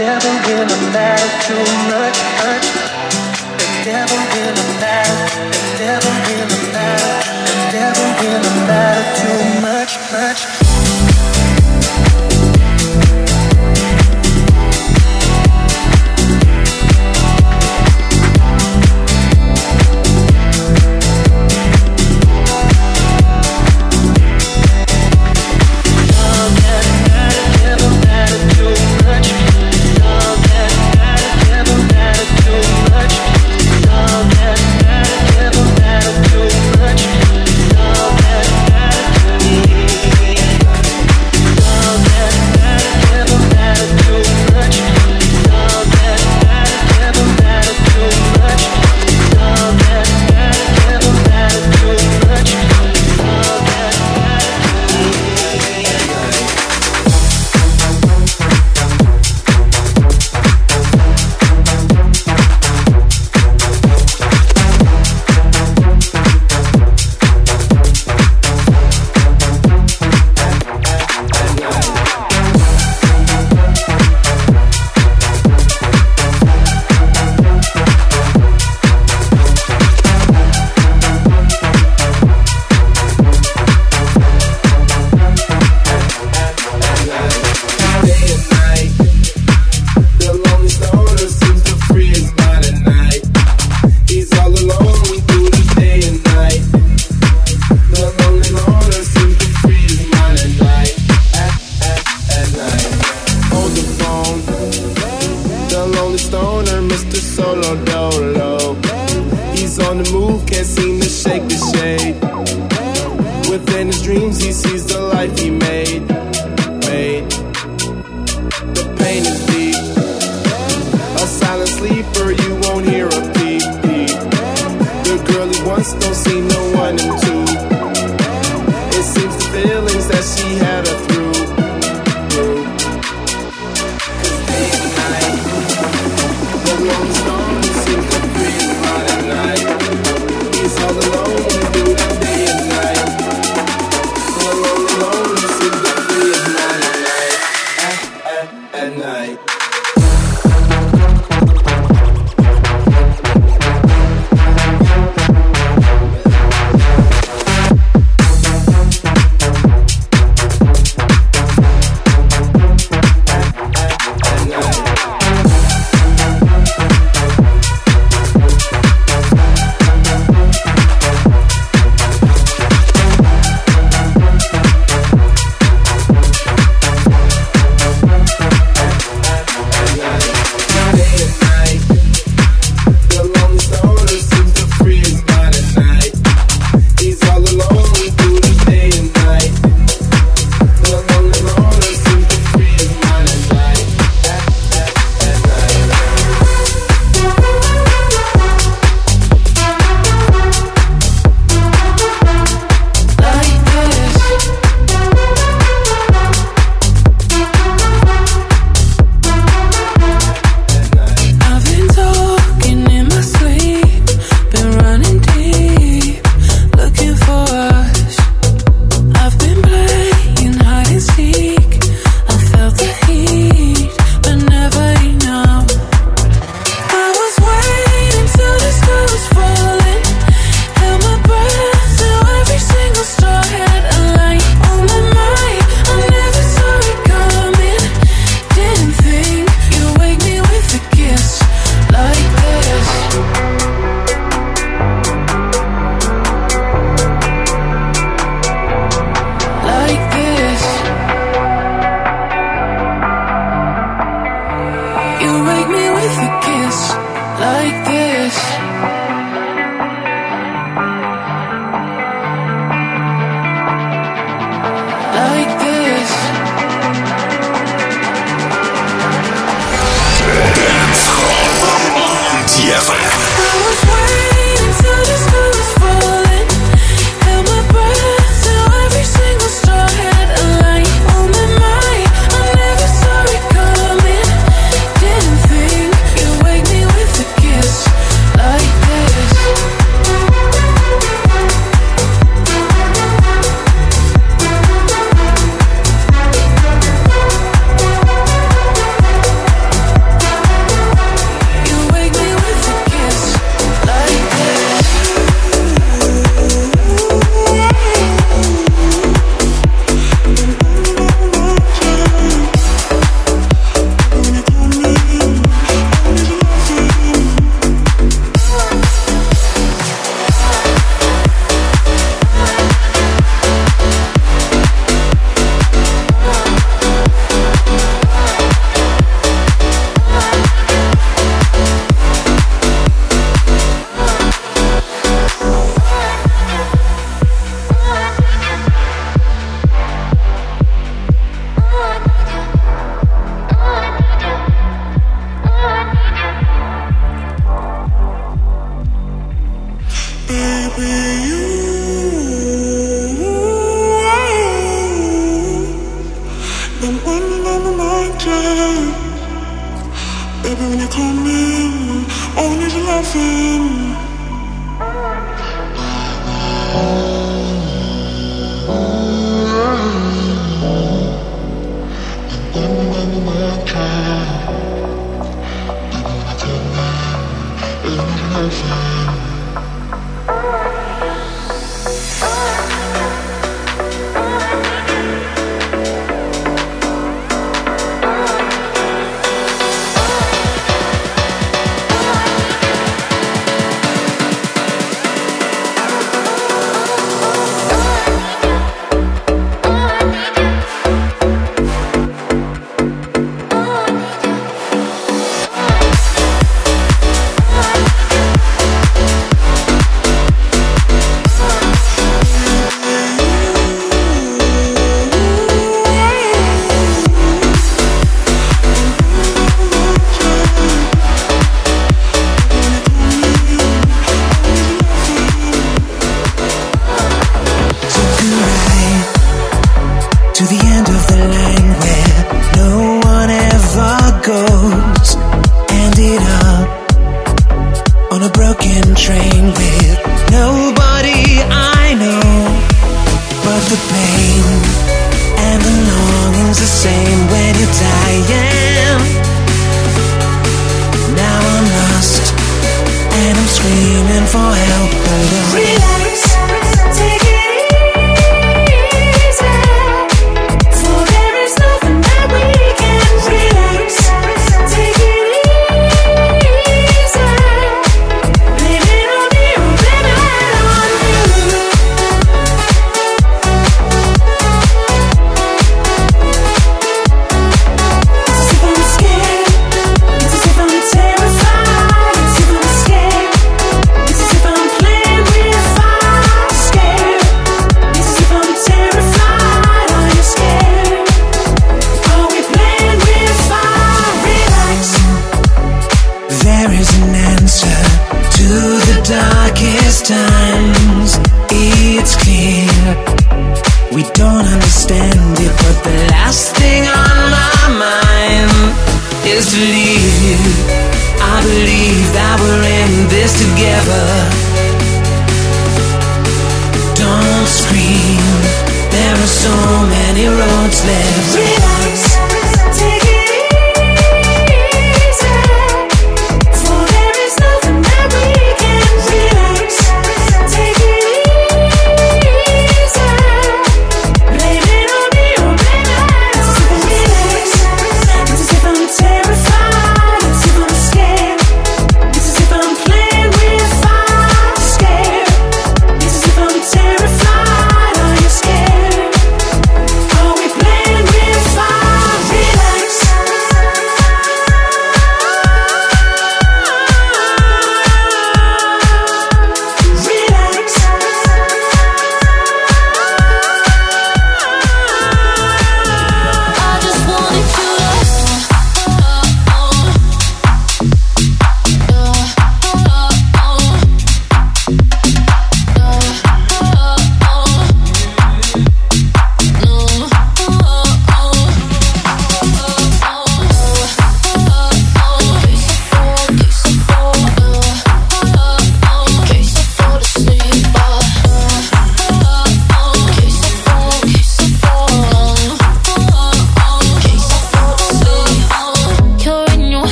never really matter too much, much. It never really matter. It never really matter. It never really matter too much, much. everything.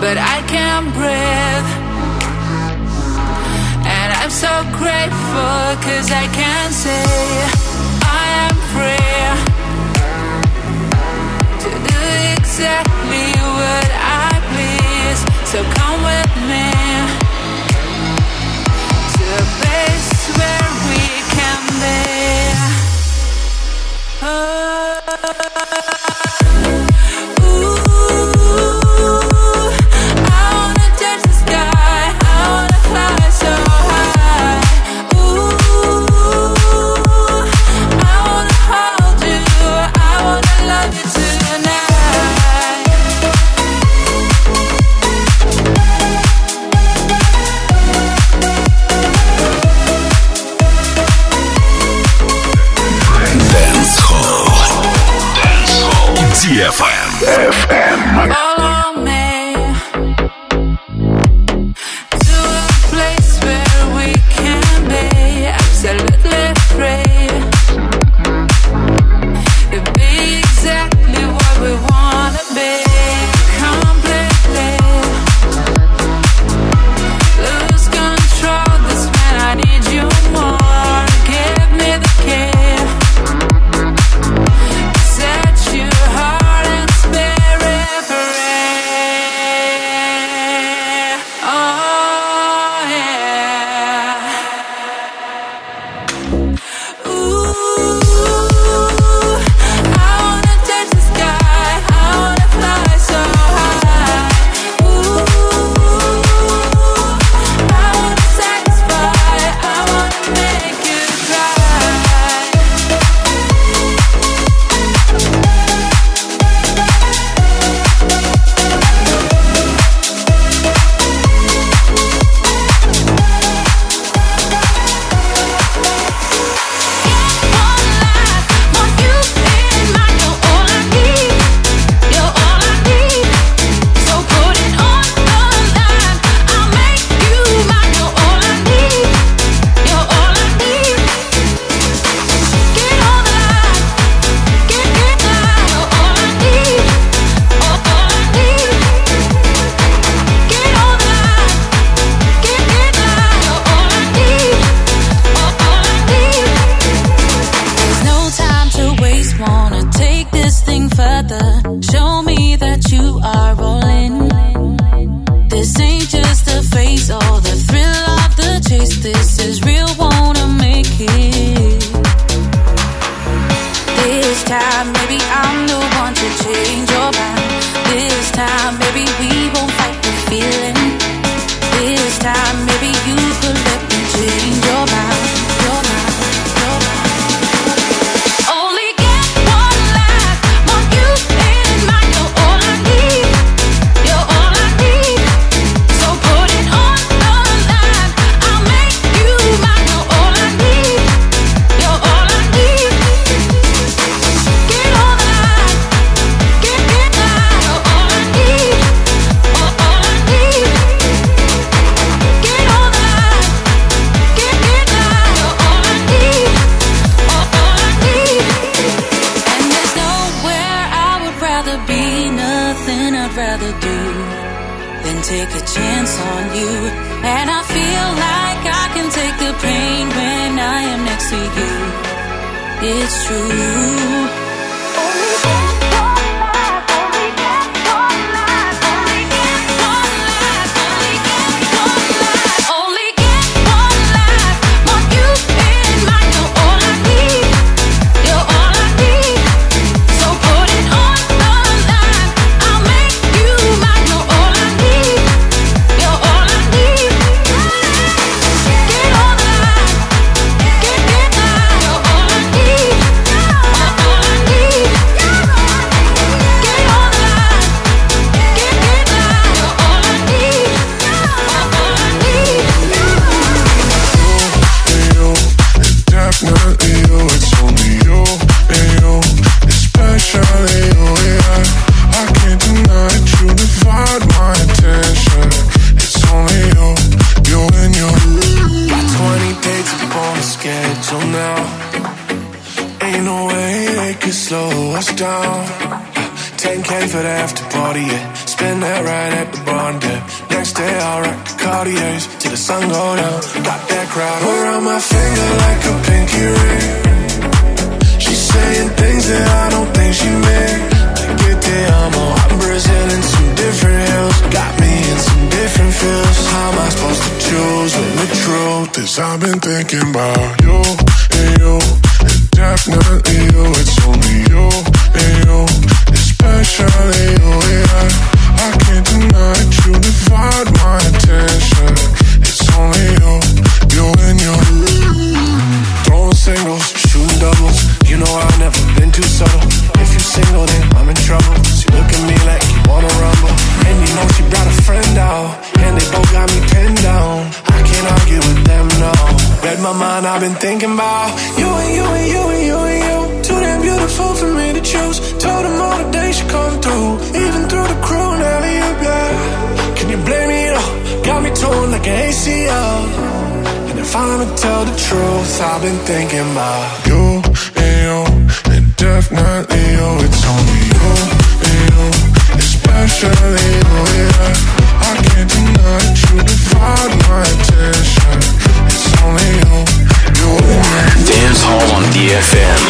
but I can't breathe. And I'm so grateful, cause I can say I am free to do exactly what I please. So come with me to a place where we can be. Oh.
эф эм.
Follow me to a place where we can be absolutely free, to be exactly what we wanna be, completely lose control. That's when I need you more. Give me the key, set you heart and spirit free. Oh yeah. Ooh, I wanna touch the sky, I wanna fly so high. Ooh, I wanna satisfy, I wanna make you cry. There's no time to waste, wanna take this thing further. Show me that you are all in. This ain't just a phase or the thrill of the chase. This is real, wanna make it. This time, maybe I'm the one to change your mind. This time, maybe we won't fight the feeling. This time, maybe you could let me change your mind. Your mind, your mind. Only get one life, want you in mind. You're all I need, you're all I need. So put it on the line, I'll make you mine. You're all I need, you're all I need. Get on the line, get, get line. You're all I need, all, all I need. Get on the line, get, get line. You're all I need, all, all I need. And there's nowhere I would rather be, nothing I'd rather do than take a chance on you. And I feel like I can take the pain when I am next to you. It's true. Only get one life, only get one life, only get one life, only get one life, only get one life. Want you in mind, you're all I need, you're all I need. So put it on the line, I'll make you mine. You're all I need, you're all I need. Get on the line, get, get line. You're all I need, all, all I need. Get on the line, get, get line. You're all I need, all, all I need.
You, definitely you, it's only you and you, especially you, yeah. I can't deny it, you divide my attention. It's only you, you and you. Got twenty dates up on the schedule now. Ain't no way they could slow us down. ten K for the after party, yeah.
spend that right at the barn dip. Next day I'll rock the Cartiers till the sun go down. Got that crowd around my finger like a pinky ring. She's saying things that I don't think she meant. Like it te amo, I'm Brazil in some different hills. Got me in some different feels. How am I supposed to choose when the truth is I've been thinking about you and you, and definitely you. It's only you and you, especially you. Yeah, I can't deny that you divide my attention. It's only you, you and you. Throwing singles, shooting doubles. You know I've never been too subtle. If you single, then I'm in trouble. She look at me like you wanna rumble. And you know she brought a friend out, and they both got me pinned down. I can't argue with them, no. Read my mind, I've been thinking about you and you and you and you and you. Too damn beautiful for me to choose. Told them all the days she come through, even through the crew and alley-oop, yeah. Can you blame me, though? Got me torn like an A C L. And if I'ma tell the truth, I've been thinking about you and you, and definitely you. It's only you and you, especially you, yeah. I can't deny that you divide my attention. It's only you, you and me.
Dance Hall on D F M.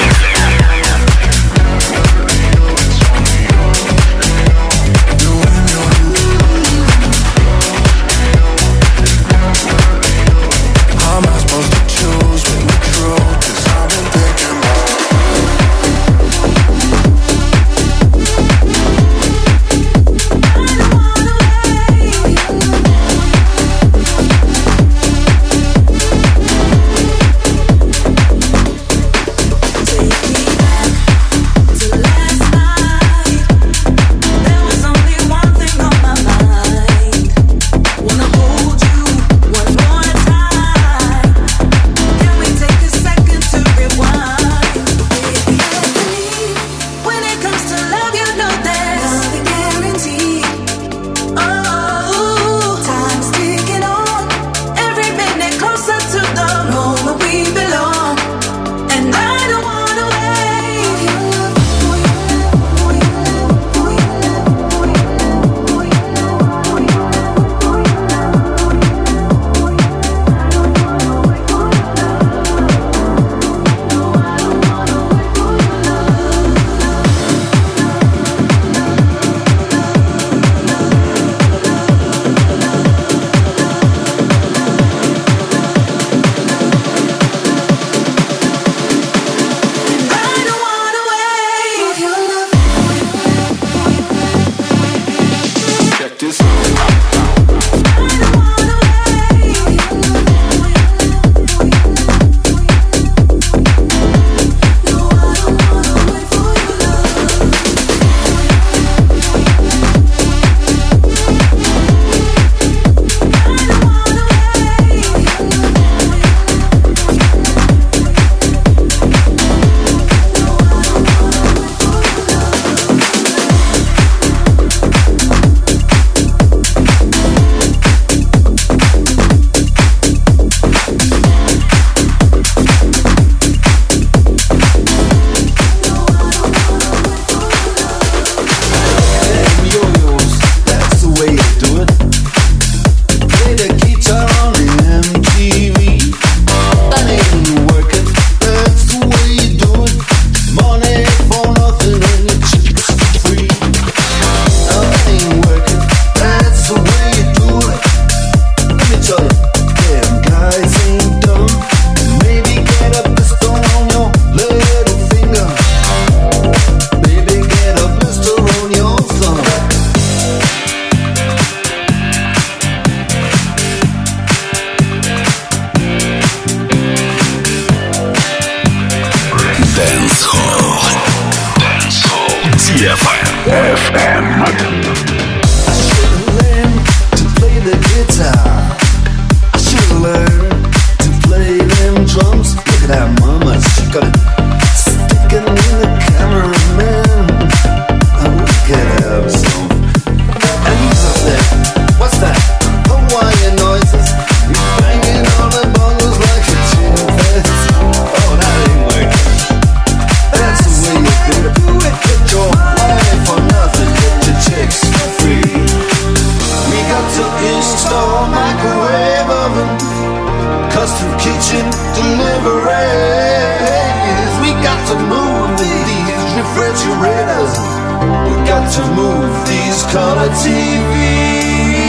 Take me
kitchen deliveries. We got to move these refrigerators. We got to move these color T Vs.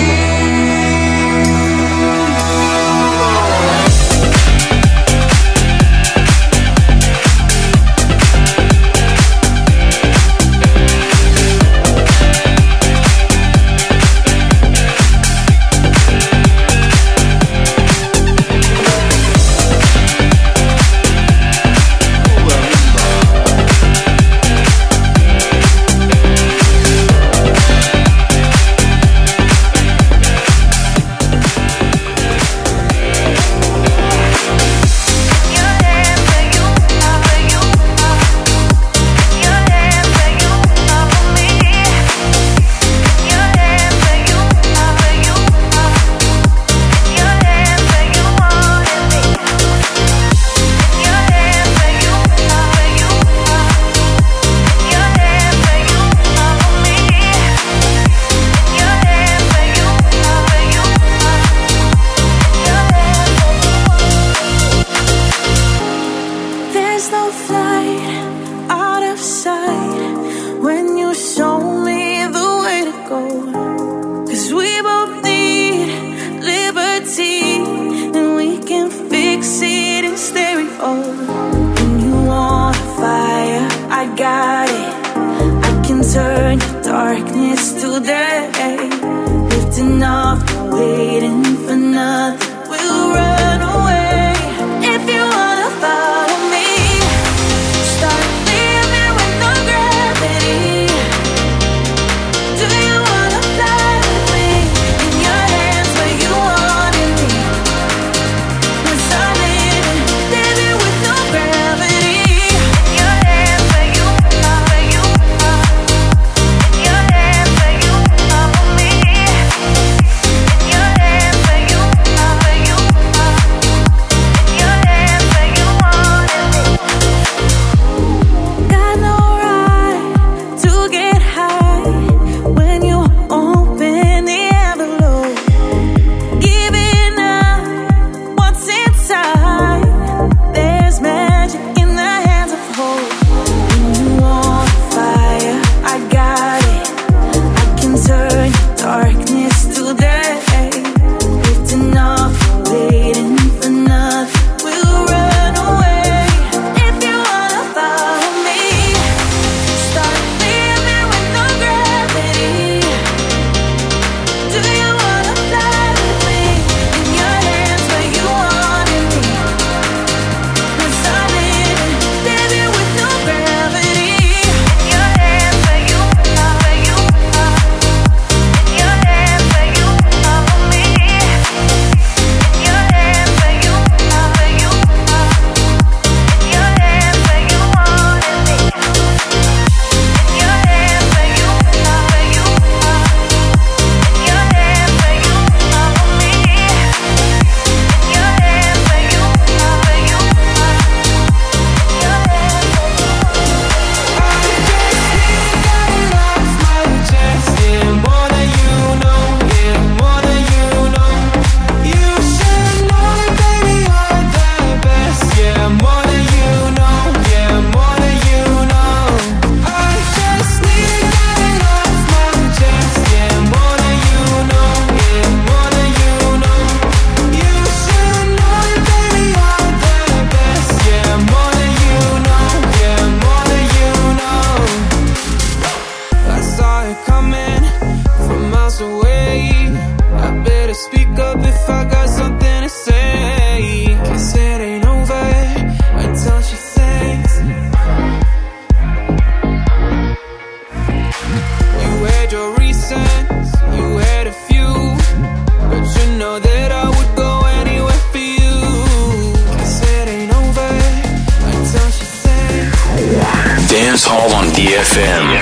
Dancehall on D F M.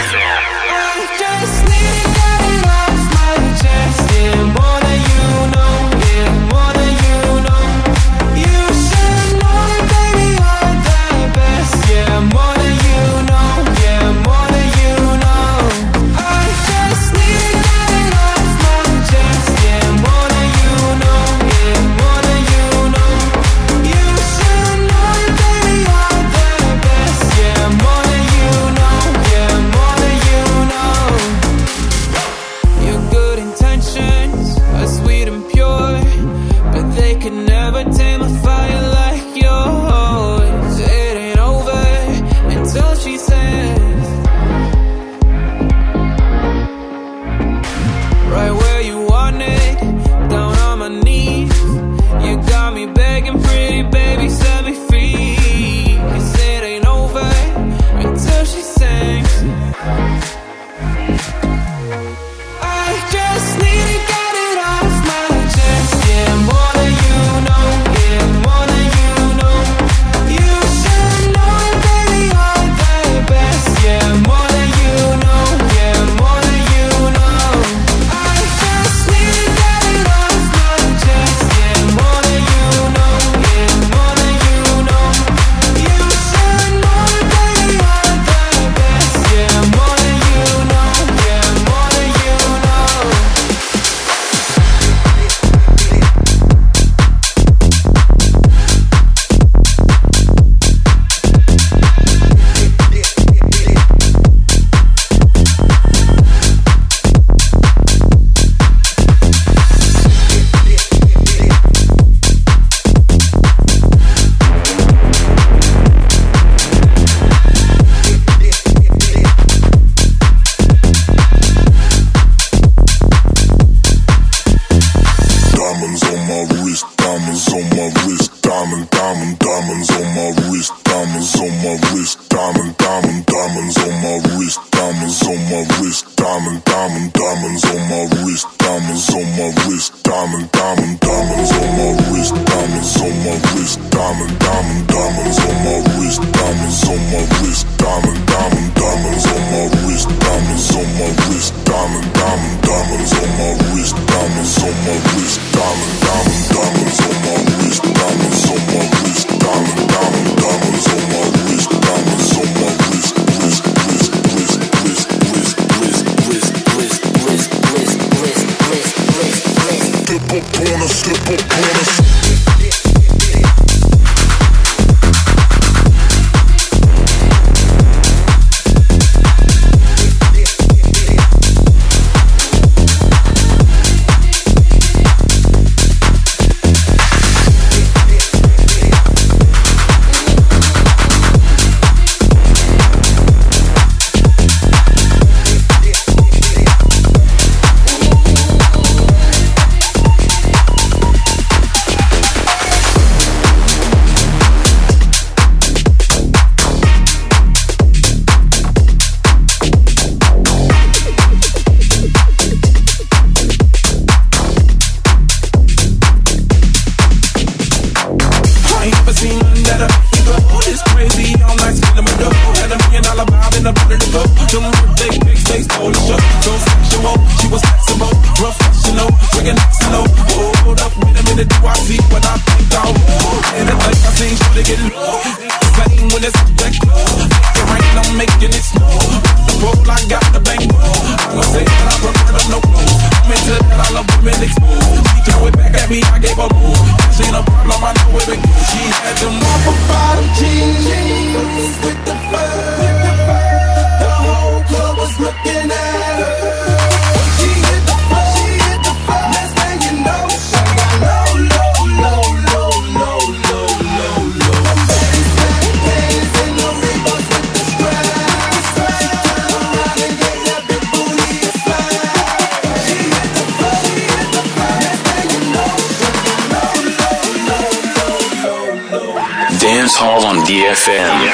right where you want it, down on my knees. You got me begging, pretty baby, set me free. 'Cause it ain't over until she sings. I just need to get it off my chest. Yeah, more than you know. Yeah, more than you know. You should know it, baby, you're the best. Yeah, more than you know. Yeah, more than you know. I just need to get it off my chest. Yeah, more than you know. Yeah, more than you know. You should know it, baby, you're the best. Yeah, more than you know. Yeah, more than you know.
Diamonds on my wrist, diamonds on my wrist, diamond, diamond, diamonds on my wrist, diamonds on my wrist, diamond, diamond, diamonds on my wrist, diamonds on my wrist, diamond, diamond, diamonds on my wrist, diamonds on my wrist, diamond, diamond, diamonds on my wrist, diamonds on my wrist, diamond, diamond, diamonds on my wrist, diamonds on my wrist, diamond, diamond, diamonds on my wrist, diamonds on my wrist, diamond, diamond, diamonds on my wrist, diamonds on my wrist, diamond, diamond, diamonds on my wrist, diamonds on my wrist, diamond, diamond, diamonds on my wrist, diamonds on my wrist, wrist, wrist, wrist, wrist, wrist, wrist, wrist, wrist, wrist, wrist, wrist, wrist, wrist, wrist. Step up on us, step up on us.
Dance Hall on D F M.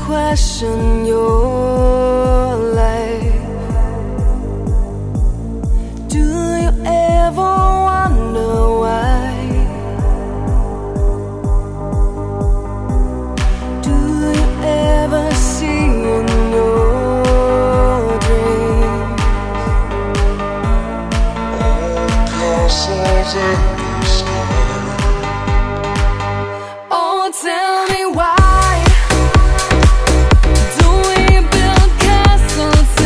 question your life. Do you ever wonder why? Do you ever see in your dreams all castles in the sky? Oh, tell me why do we build castles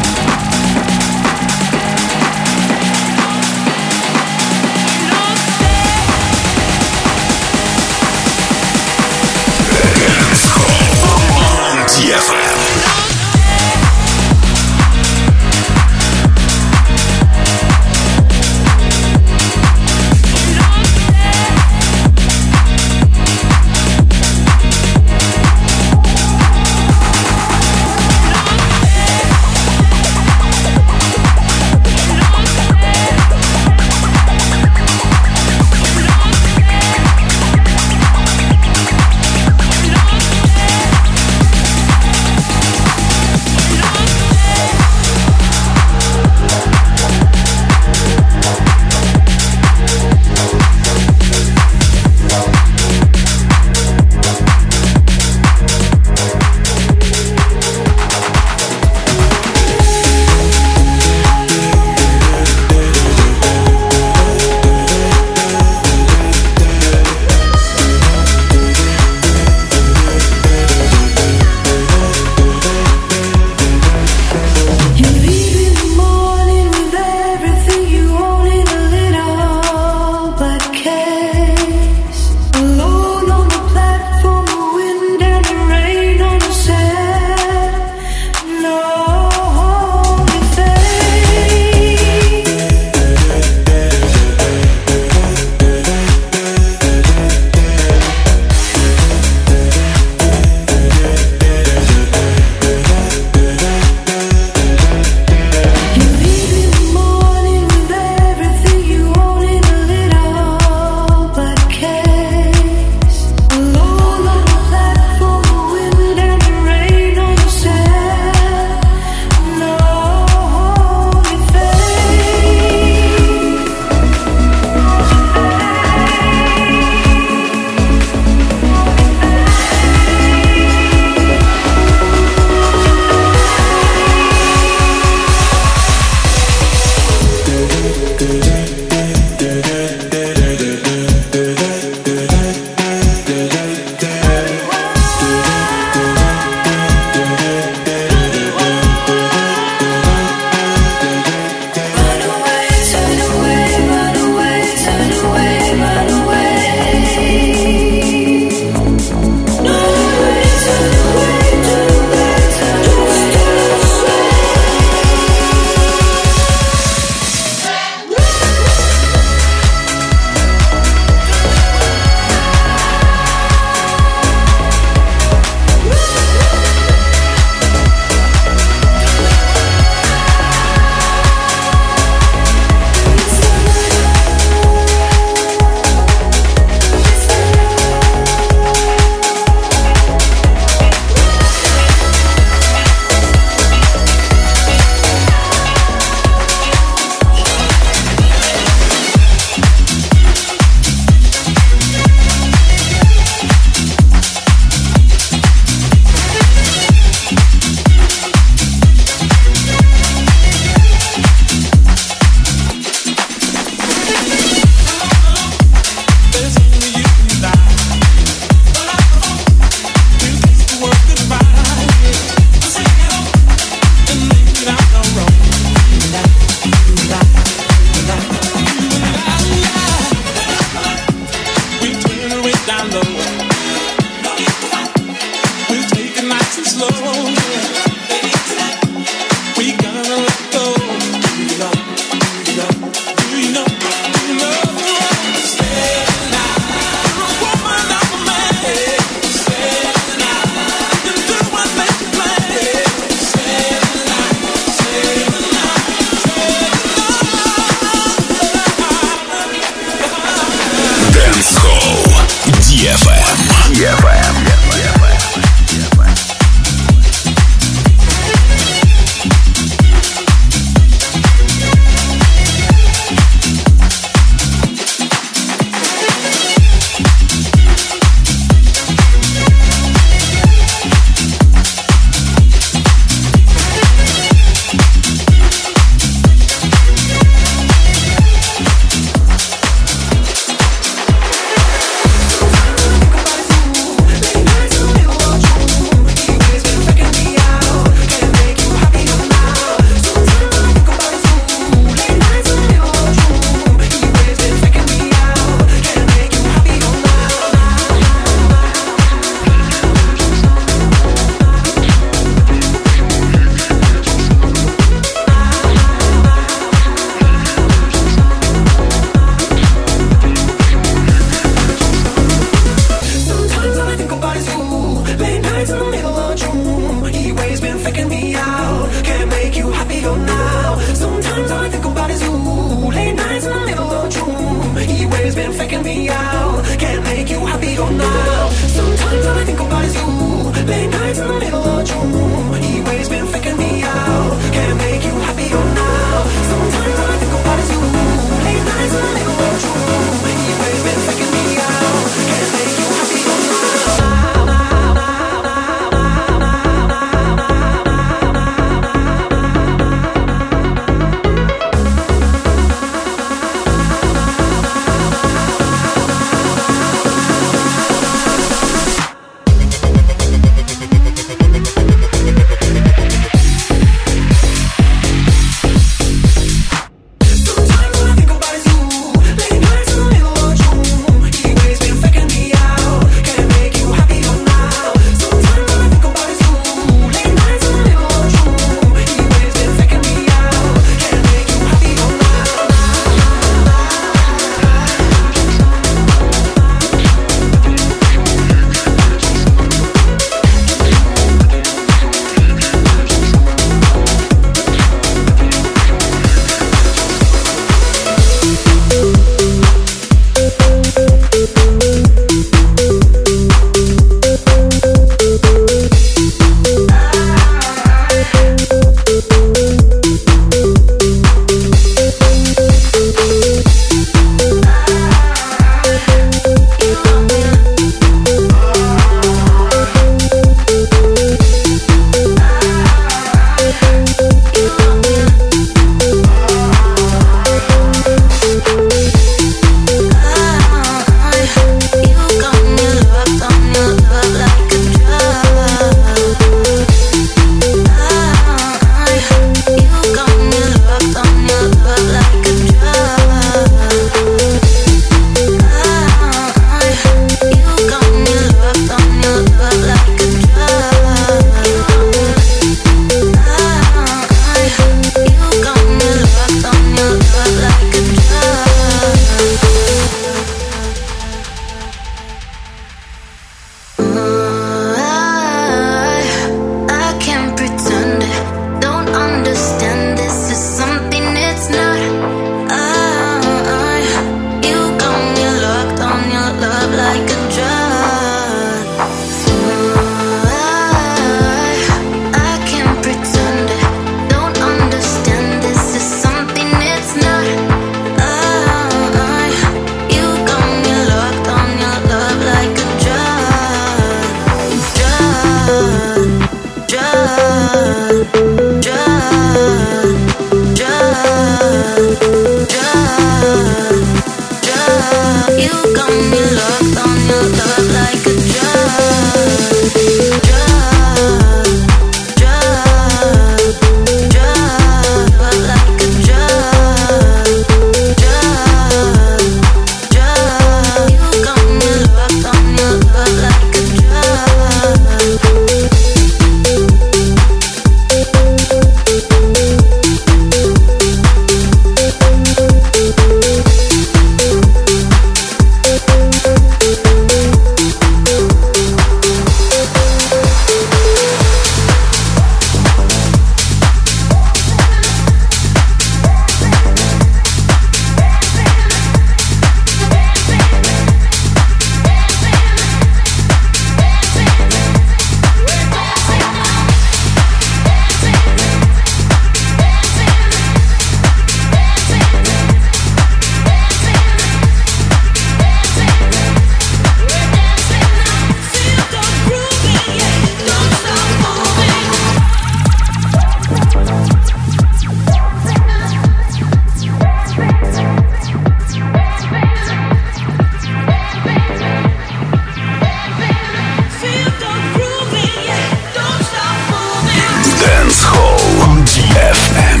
Dance Hall on ди эф эм.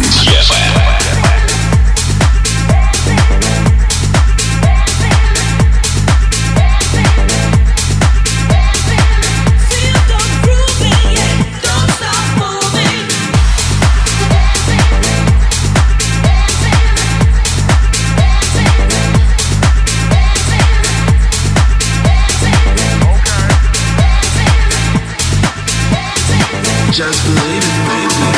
Just believe it, baby.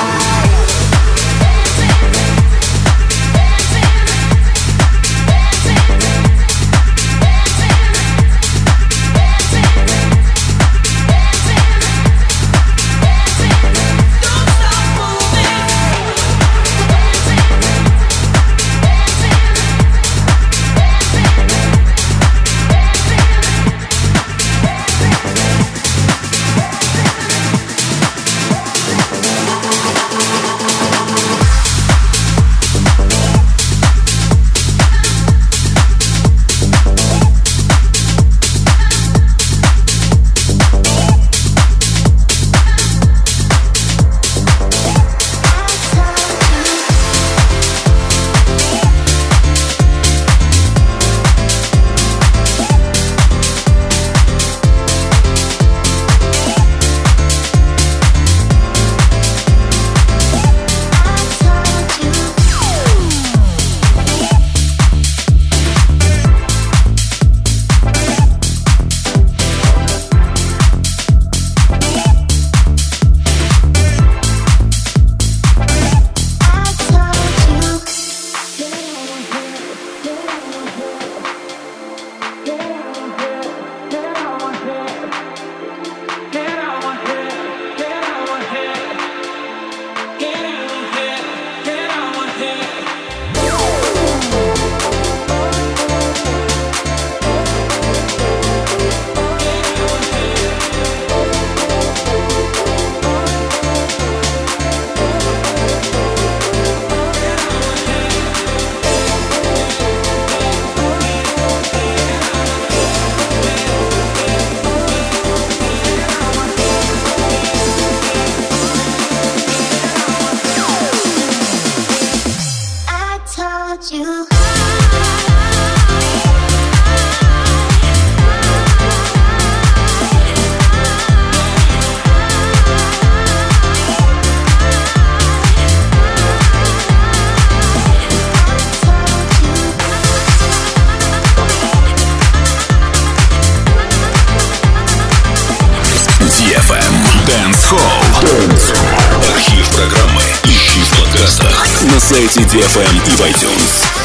Dance Hall. Архив программы ищи в подкастах на сайте ди эф эм и в iTunes.